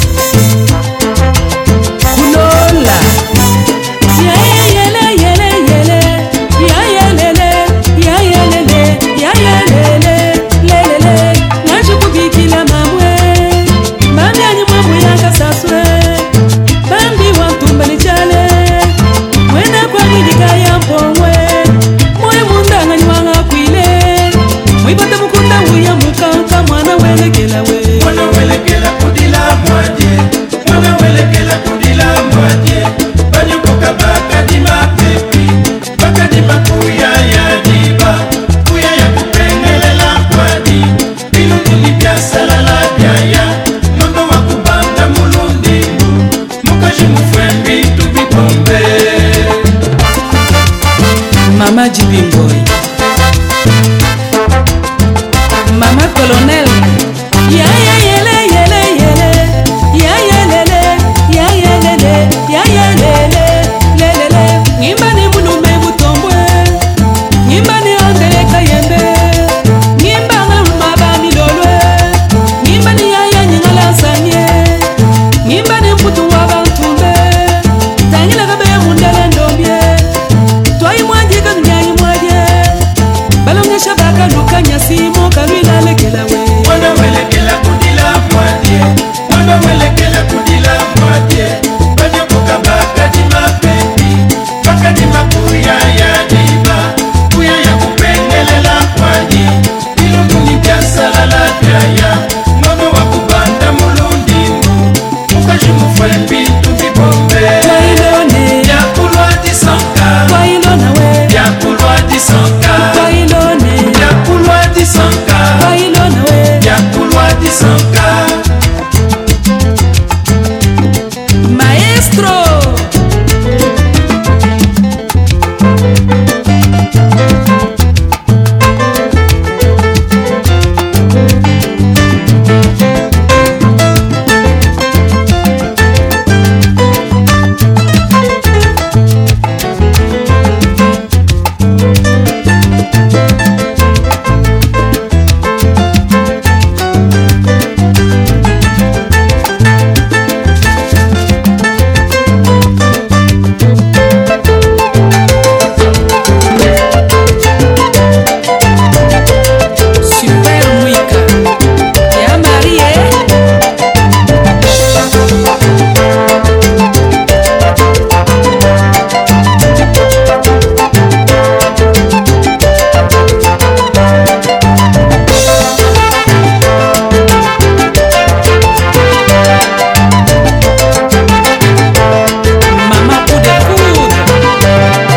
Kulola Ya yele yele yele Ya yelele Ya yelele Ya yelele Lelele Najukubikila mamwe Mami anyi mamwe yanga saswe Bambi wantumba ni chale Mwena kwa nidika ya mpongwe Mwe munda ngani wanga kwile Mwibate mukunda uya mukanka mwana welekela we Mwana welekela kudila mwadye Mwana welekela kudila mwadye Banyukoka baka di mapepi Baka di makuya ya diba Kuya ya kupengelela kwadi Bilundili bya salala byaya Nondo wakubanda mulundingu Mukashi mufwembi tubibombe Mama Jibimboy Mama Colonel Ya ya yele yele yele Ya yelele Ya yelele Ya yelele Lelele Ngimba ni mulume butombwe Ngimba ni angele kayembe Ngimba ngaluma bami lolwe Ngimba ni yaya nyingala sanye Ngimba ni mputu wabantumbe Tangila kabe mundele ndombye Twai mwaje kanyanyi mwaje Balonga shabaka luka nyasimo kabila lekela we Mwana welekela kudila mwadye Mwana welekela kudila mwadye Banyokoka baka di mapepi Baka di makuya ya diba Kuya ya kupengelela kwadi Bilunduni bya salala byaya Nono wakubanda mulundingu Mukashi mufwembi tubibombe Wailone Yakulwa disanka Wailona we Yakulwa disanka Wailone Yakulwa disanka Wailona we Yakulwa disanka Maestro Super Mwika Ya Marie Mama coup de foudre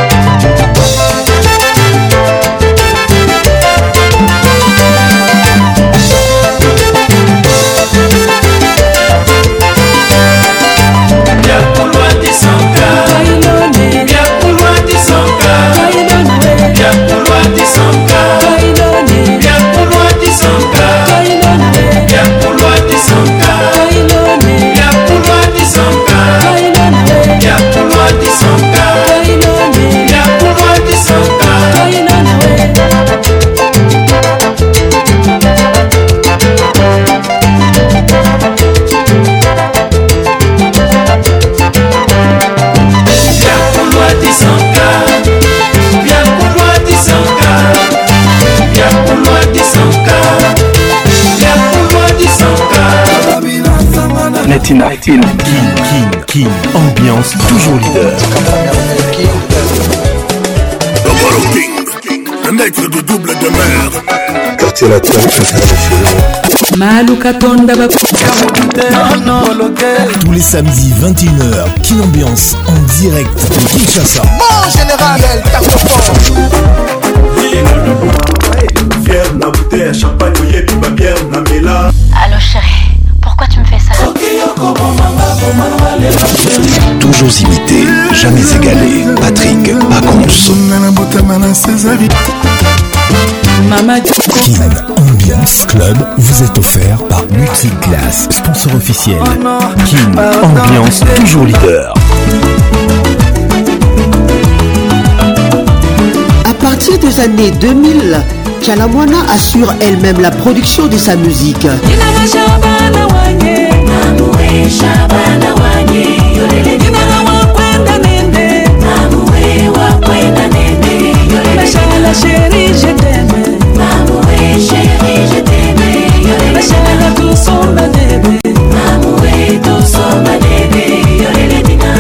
Yakulwa disanka Wailone Yakulwa disanka Wailona we Yakulwa disanka Wailone Yakulwa disanka Wailona we Yakulwa disanka Wailone Yakulwa disanka Wailona we Yakulwa disanka Wailone Yakulwa disanka Wailona we Yakulwa disanka Yakulwa disanka Yakulwa disanka Yakulwa disanka Latina King, King, King, ambiance toujours leader. Double King, le maître de double de mer. Quartier latin, Malu Katonda Baku Tous les samedis vingt et une heures, King Ambiance en direct de Kinshasa. Mon général El Tacofort Fier na bouteille champagne oyebi ba bière na mela Allô chérie, pourquoi tu me fais ça? Toujours imité, jamais égalé. Patrick Pacons. Mama King Ambiance Club vous est offert par Multiclass, sponsor officiel. King Ambiance toujours leader. À partir des années deux mille, Chalamwana assure elle-même la production de sa musique. Machala chérie, je t'aime. Mamoué, chérie, je t'aime. Machala tout son bébé. Mamoué, tout son bébé. Yorele dina.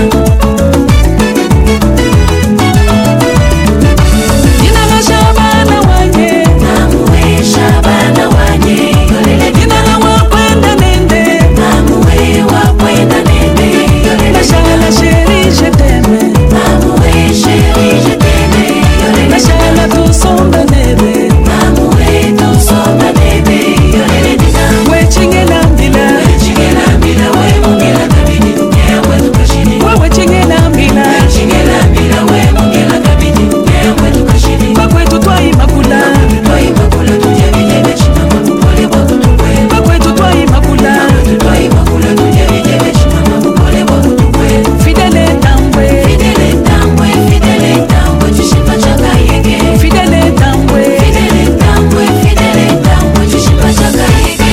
Dina la shabana wanye. Mamoué, shabana wanye. Yorele dina la wakwenda nende. Mamoué, wakwenda nende. Yorele Machala chérie, je t'aime. Mamoué, chérie, je t'aime. Machala tout son bébé. Mamoué, tout son bébé. Yorele dina. We chingela mbila. We chingela mbila. We mungela kabidi. Nyewe tukashini. We chingela mbila. We chingela mbila. We mungela kabidi. Nyewe tukashini. Bakwetu twai makula. Twai makula. Tuje vijebe chima mapupole wako tukwe. Bakwetu twai makula. Twai makula. Tuje vijebe chima mapupole wako tukwe. Fidele tambwe. Fidele tambwe. Fidele tambwe. Chishipa chaka yege. Fidele tambwe. Fidele tambwe. Fidele tambwe. Chishipa chaka yege.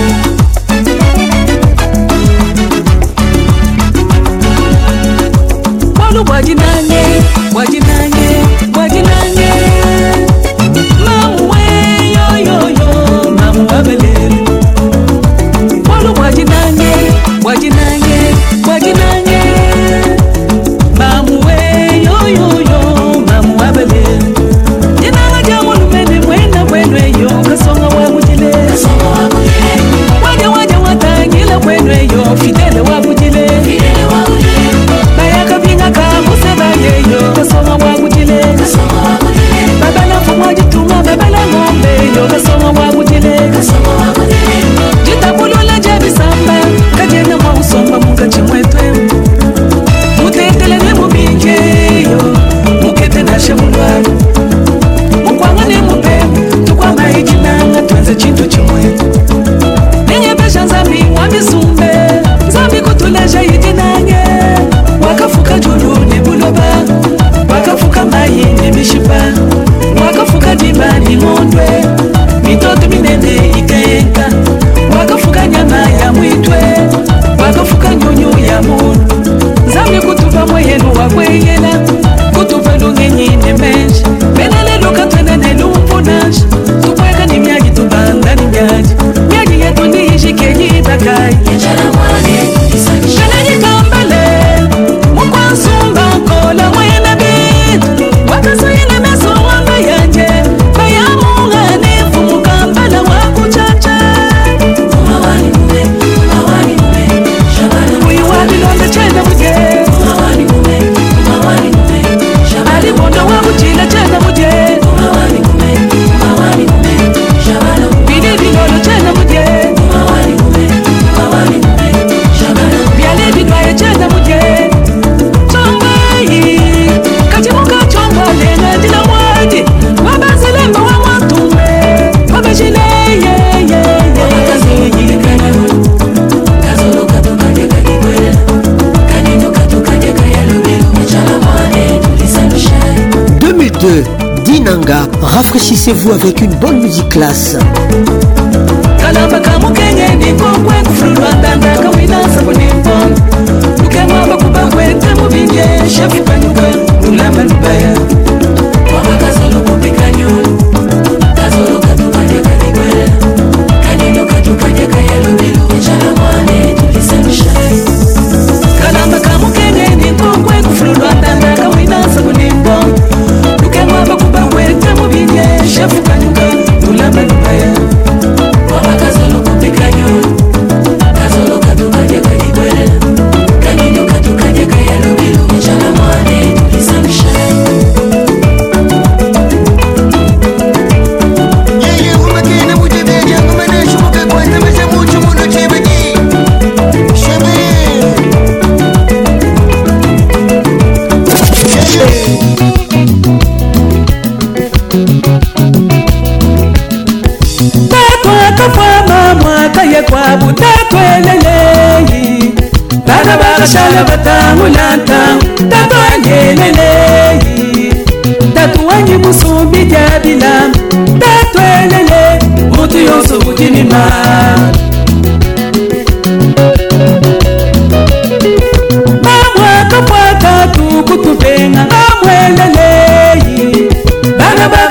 Walu wajinanye, wajinanye, wajinanye. Mamu we yo yo yo, mamu abelele. Walu wajinanye, wajinanye, wajinanye. Mamu we yo yo yo, mamu abelele. Jina jamu lumene mwena wenwe yo, kasonga wa mujile. Kasonga wa mujile. Waja waja watangila wenwe yo, fidele wa mujile. Fidele wa mujile. Bayaka binga kamuse bayeyo, kasonga wa mujile. Kasonga wa mujile. Babala fumwa jitunga, babala ngombe yo, kasonga wa mujile. Kasonga wa mujile. Jitabulula jabi samba, kajena mwa usomba munga chimwetwe. Mutetele ne mubinje yo, mukete na shemulwa. Mukwanga ne mupemu, tukwama ijinanga tuanze chintu chimwe. Nenye pesha nzambi wabisumbe, nzambi kutuleja ijinanye. Wakafuka julu ne buloba, wakafuka mayi ne mishipa, wakafuka diba ni mondwe, mitoto minene ikayenka, wakafuka nyama ya mwitwe, wakafuka nyonyo ya munu. Nzambi kutupa mweyenu wakweyela, kutupa lungenyi ne menshi, benele luka twende ne lumpunashi, tukweka ni myagi tubanga ni myagi, myagi yetu ni ishikenyi bakai. Yechala mwane, isanisha. Benenyi kambale, mukwansumba kola mwena bitu, wakasayile meso wamba yanje, bayamunga nifu mukambala wakuchacha. Umawani mume, umawani mume, shabana mume. Uyu wabilonde chenda muje. Umawani mume, umawani mume, shabana mume. Alibondo wakuchila chenda muje. Umawani mume, umawani mume, shabana mume. Bidi bilolo chenda muje. Umawani mume, umawani mume, shabana mume. Biale bidwaye chenda muje. Chombayi, kachimuka chomba lenga ndila mwadi. Wabazilemba wa mwatume, wabashile ye ye ye. Wabakazi yikana, kazolo katukanye kakikwela, kanino katukanye kayalubelu. Yechala mwane, tulisanisha. deux mille deux, Dinanga, rafraîchissez-vous avec une bonne musique classe. Kalamba kamukenye nikokwe kufulwa ndanda kawinasa kunimponga. Lukemwaba kuba kwete mubinye, shefu panyuka, ulamba lubaya. Wabakazolo kupika nyulu, kazolo katukanye kakikwela, kanino katukanye kayalubelu. Yechala mwane, tulisanisha. Kalamba kamukenye nikokwe kufulwa ndanda kawinasa kunimponga. Lukemwaba kuba kwete mubinye, shefu panyuka, ulamba lubaya. Wabakazolo kupika nyulu, kazolo katukanye kakikwela, kanino katukanye kayalubelu. Yechala mwane, tulisanisha. Yeye umekina mujibedi ngumene shuka kwa temesha mucho muno chibedi. Shebe. Tatwa tafwa mama kaye kwa butatwe leleyi. Bana bakashala batangulanta, tatwa nyeleleyi. Tatu wanyi musumbi jabila, tatwe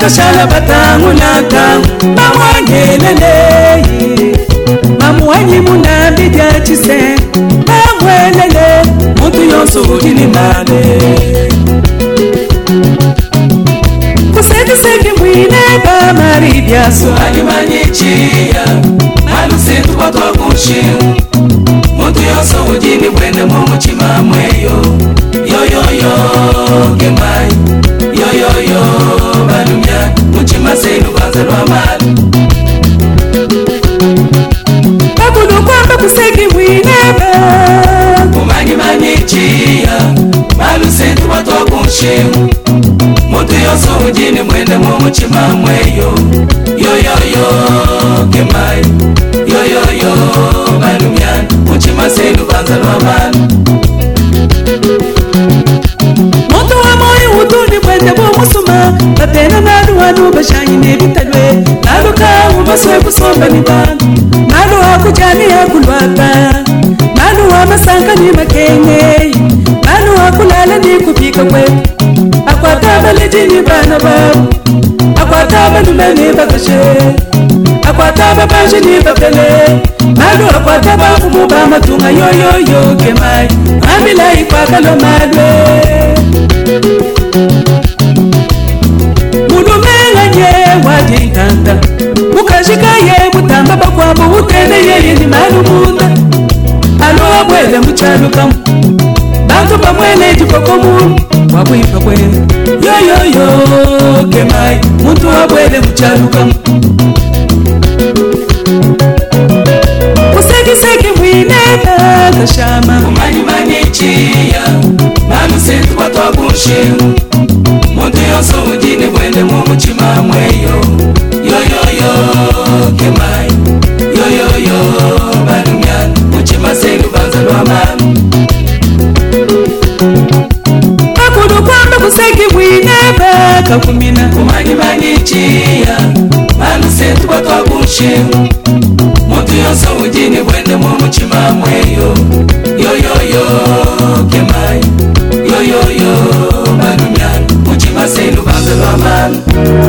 bashala batangu natangu bamwangelele mamwanyi munambi dya chise bamwelele muntu yonso ujini male kusekiseki mwine bamari byaso alimanyichiya malusintu batwakunshimu muntu yonso ujini bwene mumuchima mweyo yoyoyo gemai yoyoyo balumya muchima senu banza lwamali bakulu kwamba kuseki mwinebe kumanyi manyichiya malusintu batwakunshimu muntu yonso ujini bwene mumuchima mweyo yoyoyo gemai yoyoyo balumya muchima senu banza lwamali muntu wa moyo utuni bwende bw'omusuma batena nalu wanu bashanyi n'ebitalwe nalu kawu baswe kusomba ni bantu nalu hakujani hakulwaka nalu wa masanka ni makenge nalu hakulala ni kupika kwetu akwata baleji ni bana babu akwata balume ni bakashe akwata babaji ni bapele nalu akwata bafumu ba matunga yoyoyo kemai amila ikwakalo madwe mulumenganye wadintanda mukashikaye mutamba bakwabo utene yeye ni malumunda alo abwele muchalukamu bantu bamwele jikokomu wabwipa kwele yoyoyo kemai muntu abwele muchalukamu kusekiseki mwineba kashama kumanyi manyichiya malusintu batwakunshimu muntu yonso ujini bwende mumuchima mweyo yoyoyo kemai yoyoyo balumyana muchima senu banza lwamani bakulu kwamba kuseki mwineba kakumina kumanyi manyichiya malusintu batwakunshimu muntu yonso ujini bwende mumuchima mweyo yoyoyo kemai yoyoyo balumyana muchima senu banza lwamani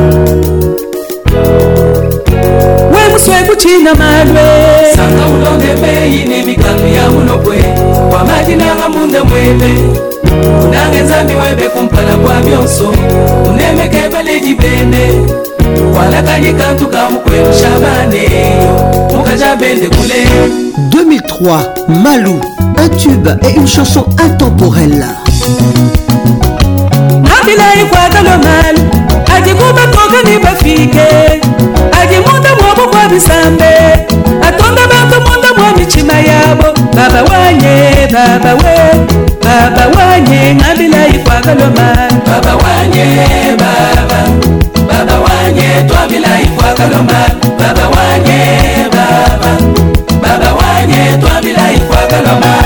we muswe kuchina malwe sanga ulonde meyi nemikanu ya mulopwe kwa majina hamunda mwebe unange nzambi webe kumpala kwa byonso unemeke baleji bene wala kanyikantu kamukwelu shabaneyo mukaja bende kule. deux mille trois, Malou, un tube et une chanson intemporelle. Nabilai kwa galo malu ajikuba toka ni bafike ajimunda mwabo kwa bisambe atonda bantu munda mwa michima yabo baba wanye baba we baba wanye nabilai kwa galo malu baba wanye baba baba wanye twabilai kwa galo malu baba wanye baba baba wanye twabilai kwa galo malu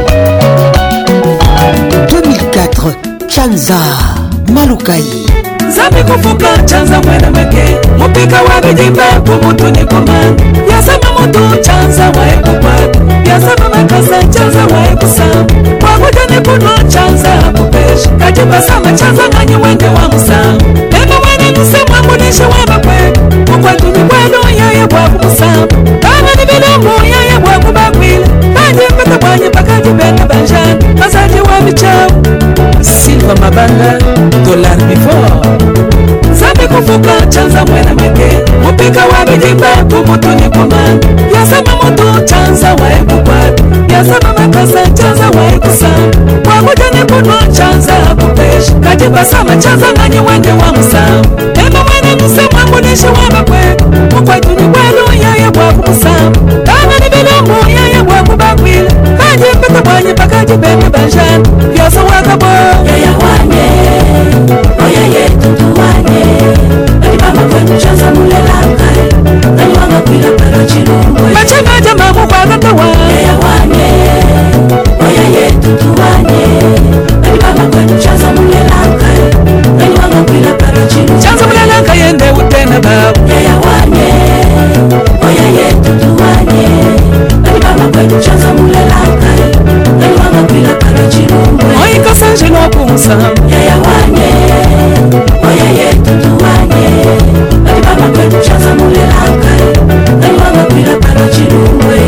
Chanza Malukai Zambi kufuka chanza mwena mweke Mupika wa bijimba kumutu ni kumani Yasama mutu chanza wa ekupati Yasama makasa chanza wa ekusama Wakuja ni kuno chanza kupeshi Kajiba sama chanza nganyi wende wa musama Ema wene nisemwa munisha wa makwe Mukwetu ni kwenu yaye waku musama Kama ni bilomu yaye waku bakwile Kanyi mpata kwanyi pakaji bena banjani Masaji wa michao Silva Mabanda Dollar Before Zambi kufuka chanza mwena mweke Mupika wa bijimba kumutu ni kumani Yasama mutu chanza wa ekukwati Yasama makasa chanza wa ekusama Wakuja ni kuno chanza kupeshi Kajiba sama chanza nganyi wende wa musama Ema mwene nisemwa munisha wa makwe Mukwetu ni kwenu yaye waku musama Kama ni bilomu yaye waku bakwile Kanyi mpata kwanyi pakaji bena banjani Yosa wakabo Yaya wane Oya yetu tuwane Alibama kwetu chanza mulela kare Naliwanga kwila pero chilungwe Machanga jamamu kwa katawa Yaya wane Oya yetu tuwane Alibama kwetu chanza mulela kare Naliwanga kwila pero chilungwe Chanza mulela kare yende utena babu Yaya wane Oya yetu tuwane Alibama kwetu chanza mulela kare Naliwanga kwila pero chilungwe Oika sanjino kumusama Yaya wane Oya yetu tuwane Alibama kwetu chanza mulela kare Naliwanga kwila pero chilungwe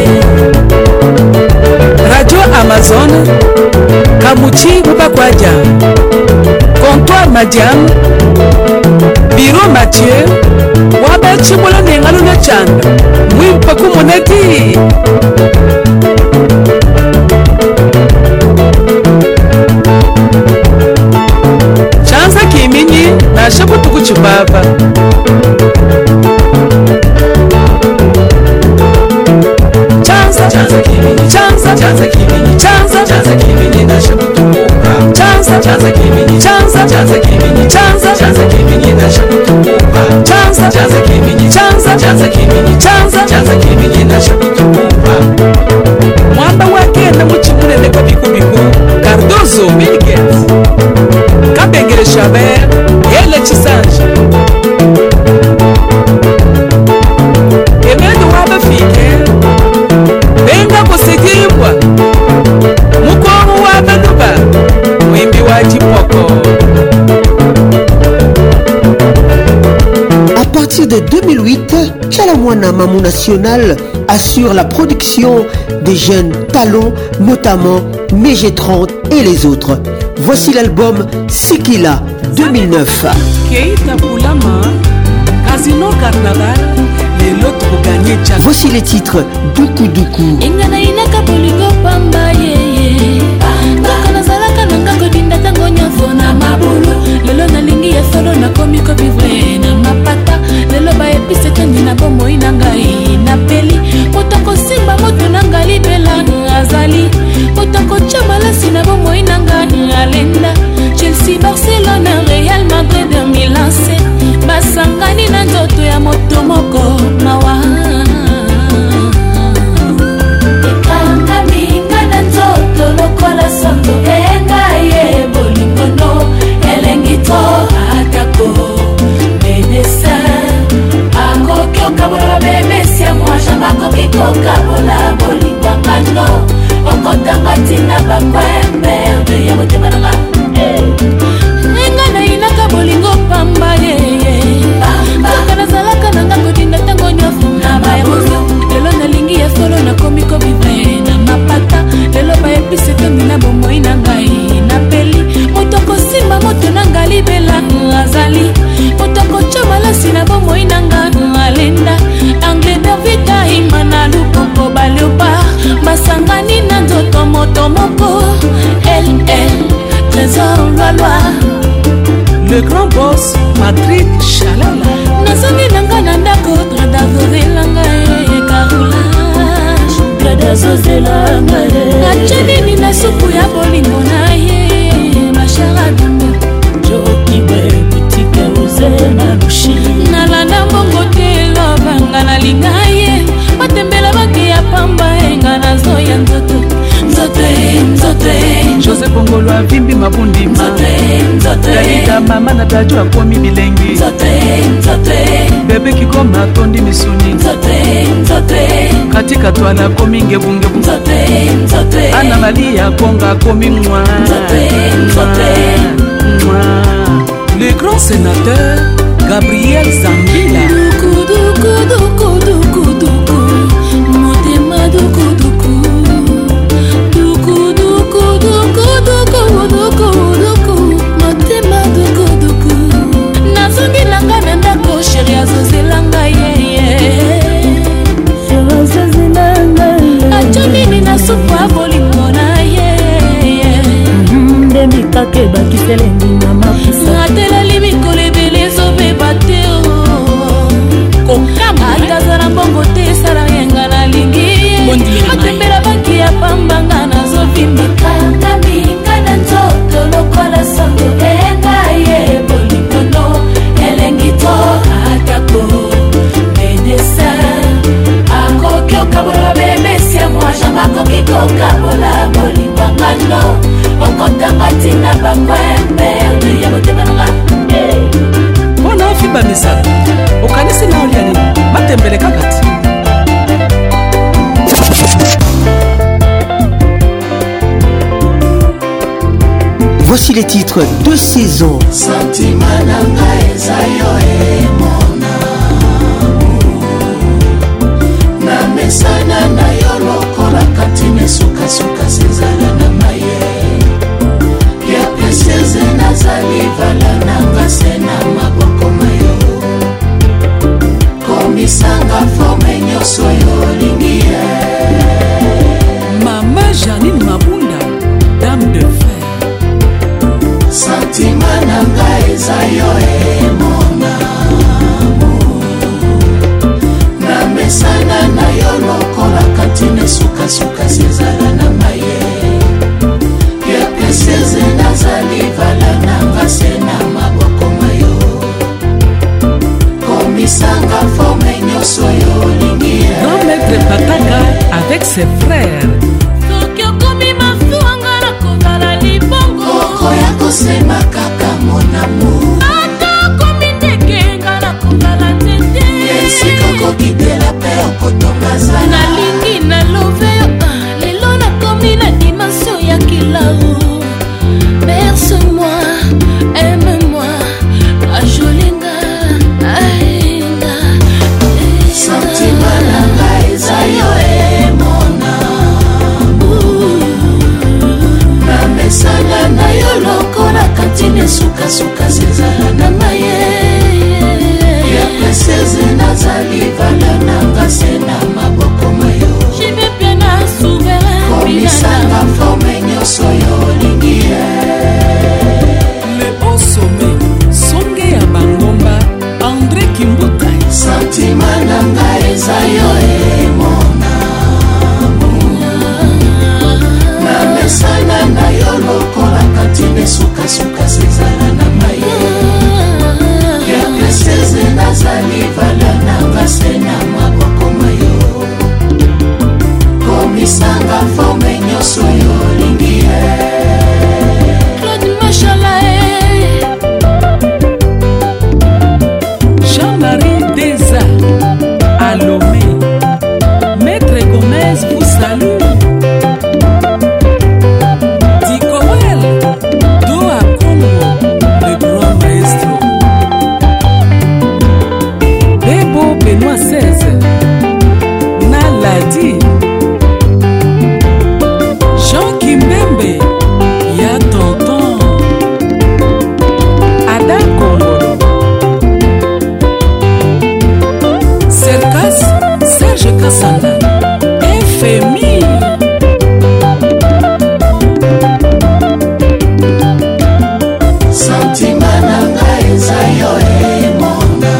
Radio Amazon Kamuchi Bubakwaja Comptoir Madiam Biro Mathieu Wabe Chimbola Nengalo na Chanda Mwimpa kumoneti Chanza Kiminyi na Shabu Tukuchubaba Chanza Chanza Kiminyi Chanza Chanza Kiminyi Chanza Chanza Kiminyi na Shabu Tukuchubaba Chanza Chanza Kiminyi Chanza Chanza Kiminyi Chanza Chanza Kiminyi na Shabu Tukuchubaba Chanza Chanza Kiminyi Chanza Chanza Kiminyi Chanza Chanza Kiminyi na Shabu Tukuchubaba Mwamba wake na muchimune kwa biku biku Cardozo Bill Gates Kabengere Chabert Yele Chisanje Emedo wabe fike Benga kusigimbwa Mukomu wabe nuba Mwimbi wajipoko. À partir de deux mille huit, Tchalamwana Mamou National assure la production des jeunes talents, notamment Mégé trente et les autres. Voici l'album Sikila deux mille neuf. Keita Boulama, Casino Carnaval, les lots pour gagner. Voici les titres Duku Duku. Ingana inaka bolingo pamba yeye. Kaka nazalaka nanga kodinda tango nyafo na mabulu. Lelo nalingi ya solo na komiko vivre na mapata. Lelo ba epise tendi na bomo inangai na peli. Motoko simba moto nanga libela azali. Motoko chamala sina bomo inangai alenda. Chelsea, Barcelona, Real Madrid, Milan C. Basangani na nzoto ya moto moko mawa. Ekanga minga na nzoto lokola sango enga ye bolingono elengito atako menesa ako kyoka bola bebesi ya mwaja mako kikoka bola bolingwangano okotanga tina bakwembe de ya motema nanga Engana inaka bolingo pamba yeye Kaka nazalaka nanga kodinda tango nyofu na bayamozo Lelo nalingi ya solo na komiko vivre na mapata Lelo ba epise tendi na bomo inangai na peli Motoko simba moto nanga libela azali Motoko chamala sina bomo inanga alenda Angle Davida imana lupoko baleopa Basangani na nzoto moto moko El El Trésor loi loi Le grand boss Patrick Chalala Nazangi nanga nandako Drada zozelanga e Carolage Drada zozelanga e Nachanini na supu ya bolingo na ye Machara dumbo Joki we boutique uze na lushi Nalanda mbongo te lobanga na linga ye Matembela baki ya pamba enga na zoya nzoto Nzoto e, nzoto e José Pongolo vimbi mabundima dalida mama na tatu akomi bilengi bebe kikoma tondi misuni katika twala komi ngebungebu ana malia konga komi mwa le grand sénateur Gabriel Zambila duku duku duku duku duku motema duku duku duku duku duku duku duku duku motema duku duku nazongi langa na ndako sheri azozelanga yeye acho nini na supu ya bolingo na yeye nde mikake bakiselengi na mapusa nateleli mikolo ebele ezobeba te atazala mbongo te esala yenga nalingi matembela banki ya pambanga nazovimika kaminga na nzoto lokola sango enga ye bolikono elengi to atako medesa akoki okabola bebesi ya mwajanga akoki kokabola bolingwangano okotanga ntina bakwembe ya motema nanga mpona ofiba misala okanisi na oliani matembele kaka ti Voici les titres de saison. Sentiment nanga ezayo emona na mesana na yo lokola katine sukasuka sezala na maye ya peseze nazali vala nanga sena maboko mayo komisanga forme nyonso yo olingie mama Janine Mabunda dame de fer santima nanga eza yo emona na mesana na yo lokola katine sukasuka sezala na maye ya peseze nazali vala nanga sena maboko mayo komisanga forme nyonso yo olingie grand maître Pataka avec ses frères soki okomi mafuanga na kozala libongo okoya kosema kaka monamu ata okomi ndekenga na kozala tete esika okokitela mpe okotonga zala nalingi nalobe yo lelo nakomi na dimension ya kilau berce-moi aime-moi ajolinga ainga santima nanga eza yo emona na mesana na yo lokola katine sukasuka sezala na maye ya peseze nazali vala nanga sena maboko mayo jibe pia na souverain komisanga forme nyonso yo olingie le haut sommet songe ya bangomba André Kimbuta santima nanga eza yo emona na mesana na yo lokola katine sukasuka sezala na maye ya peseze nazali vala nanga sena maboko mayo komisanga forme nyonso yo olingie Claude Machala Jean-Marie Deza Alomé Maître Gomez vous salue Ticoel Doa Congo le grand maestro Bebo Benoît seize Naladi Jean Kimbembe Ya tonton Adam Kongolo Serkas Serge Kassanda F M I santima nanga eza yo emona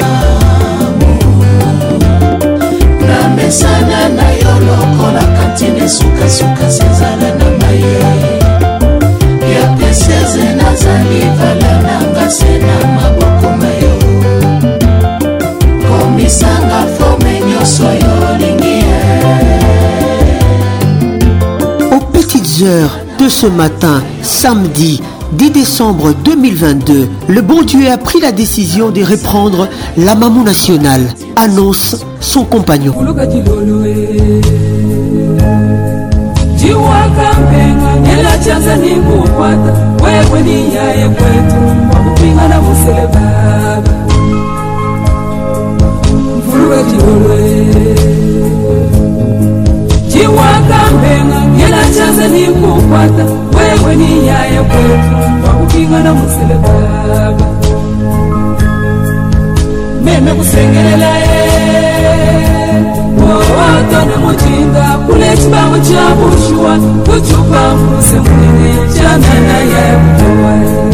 na mesana na yo lokola katine sukasuka sezala na maye ya peseze nazali vala nanga sena maboko mayo komisanga forme nyonso yo olingie Aux petites heures de ce matin, samedi dix décembre deux mille vingt-deux, le bon Dieu a pris la décision de reprendre la Mamou nationale, annonce son compagnon. Jiwakambenga ngela chaza ni kukwata wewe ni yaya kwetu wakupingana musele baba meme kusengelela e wawatona mujinga kule chibango cha bushua kuchupa mfuse mwine chanana ya kutoa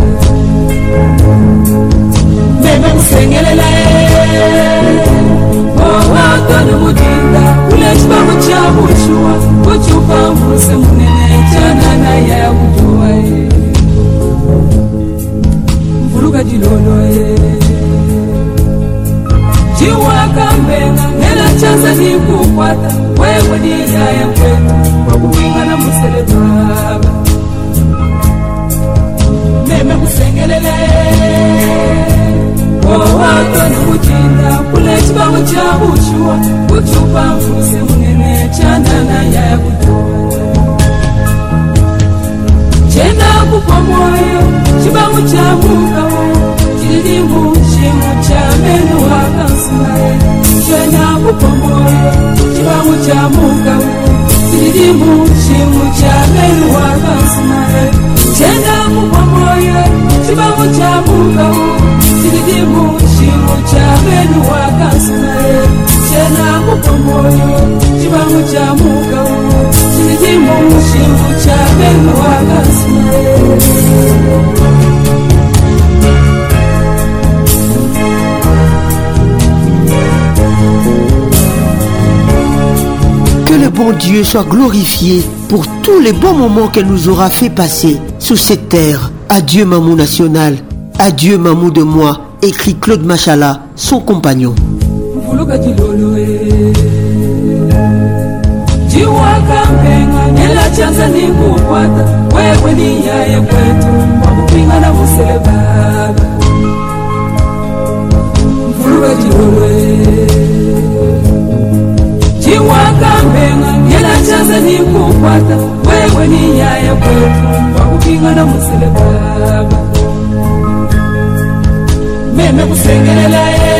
meme kusengelela e wawatona mujinga kule chibango cha bushua kuchupa mfuse mwine chanana ya kutoa mvuruga jilolo e jiwakambenga ngela chaza ni kukwata wewe ni yaya kwetu wakupingana musele baba meme kusengelele wawatona mujinga kule chibango cha bushua kuchupa mfuse munene chanana ya kutoa chenda kupa moyo chibango cha mukawo chilimu shimu cha menu wakasumae chenda kupa moyo chibango cha mukawo chilimu shimu cha menu wakasumae chenda kupa moyo chibango cha mukawo chilimu shimu cha menu wakasumae chenda kupa moyo chibango cha mukawo chilimu shimu cha menu wakasumae. Que le bon Dieu soit glorifié pour tous les bons moments qu'elle nous aura fait passer sous cette terre. Adieu Mamou nationale, adieu Mamou de moi, écrit Claude Machala, son compagnon. Jiwakambenga ngela chaza ni kukwata wewe ni yaya kwetu wakupingana musele baba mvuruga jilolwe jiwakambenga ngela chaza ni kukwata wewe ni yaya kwetu wakupingana musele baba meme kusengelela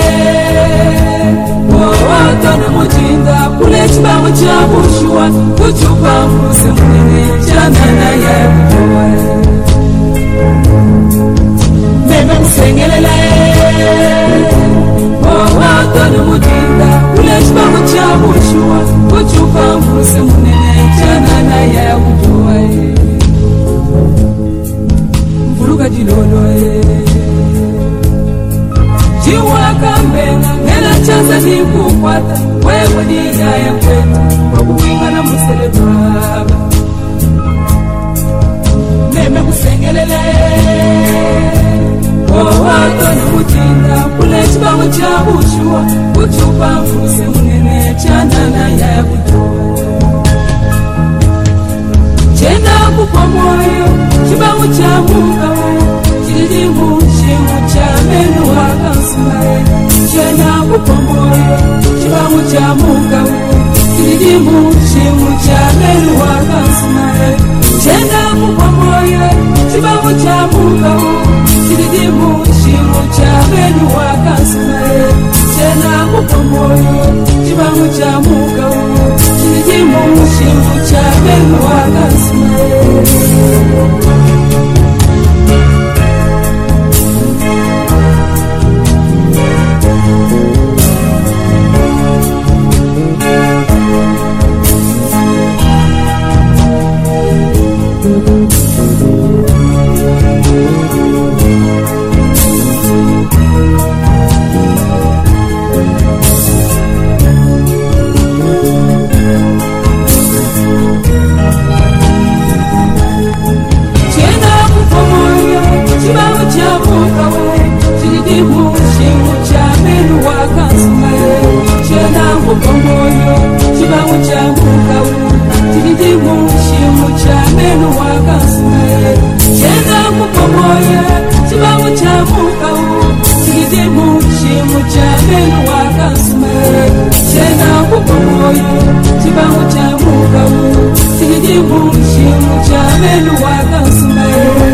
wawatona mujinga kule chibango cha bushua kuchupa mfuse mwine chanana ya kutoa meme kusengelela wawatona mujinga kule chibango cha bushua kuchupa mfuse mwine chanana ya kutoa mvuruga jilolo jiwakambenga ngela chaza ni kukwata wewe ni yaya kwetu wakupingana musele baba meme kusengelele wawatona mujinga kule chibango cha bushua kuchupa mfuse munene chanana ya kutoa chenda kupa moyo chibango cha mukawo chilimu shimu cha menu wakasumae chenda kupa moyo chibango cha mukawo chilimu shimu cha menu wakasumae chenda kupa moyo chibango cha mukawo chilimu shimu cha menu wakasumae chenda kupa moyo chibango cha mukawo chilimu shimu cha menu wakasumae. wakasume chena kupomoya chibangu cha mukau chikidimu shimu cha menu wakasume chena kupomoya chibangu cha mukau chikidimu shimu cha menu wakasume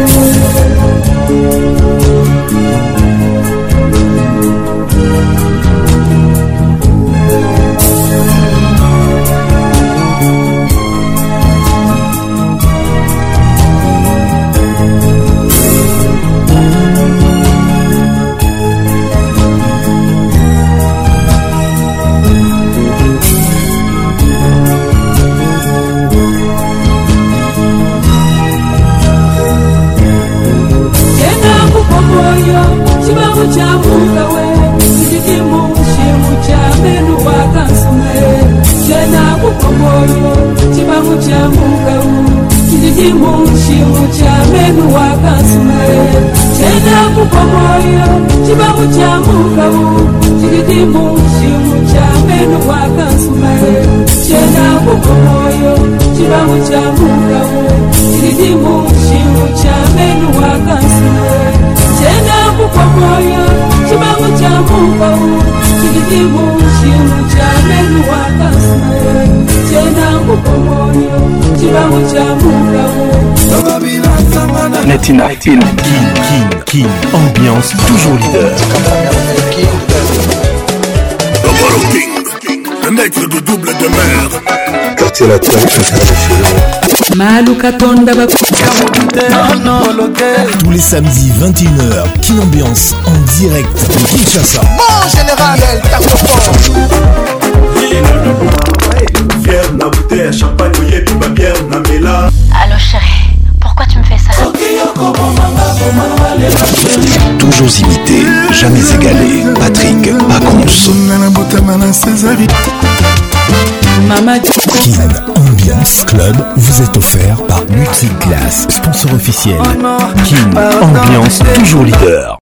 chibangu cha mukawe chikidimu shimu cha menu wakasume chena kupomoyo chibangu cha mukawe chikidimu shimu cha menu wakasume chena kupomoyo chibangu cha mukawe chikidimu shimu cha menu wakasume chena kupomoyo chibangu cha mukawe chikidimu shimu cha menu wakasume chena kupomoyo chibangu cha mukau chikidimu shimu cha menu wakasume chena kupomoyo chibangu cha mukau Latina Kin, Kin, Kin, Kin, ambiance toujours leader. Double King, le maître de double de mer. Quartier latin international. Malukatonda Tous les samedis vingt et une heures, Kin Ambiance en direct de Kinshasa. Mon général, Fier na bouteille, champagne, oye, piba bière, na mela. Allô chérie, pourquoi tu me fais ça? Toujours imité, jamais égalé. Patrick Pacons. Mama Kin Ambiance Club vous est offert par Multiclass, sponsor officiel. Kin Ambiance toujours leader.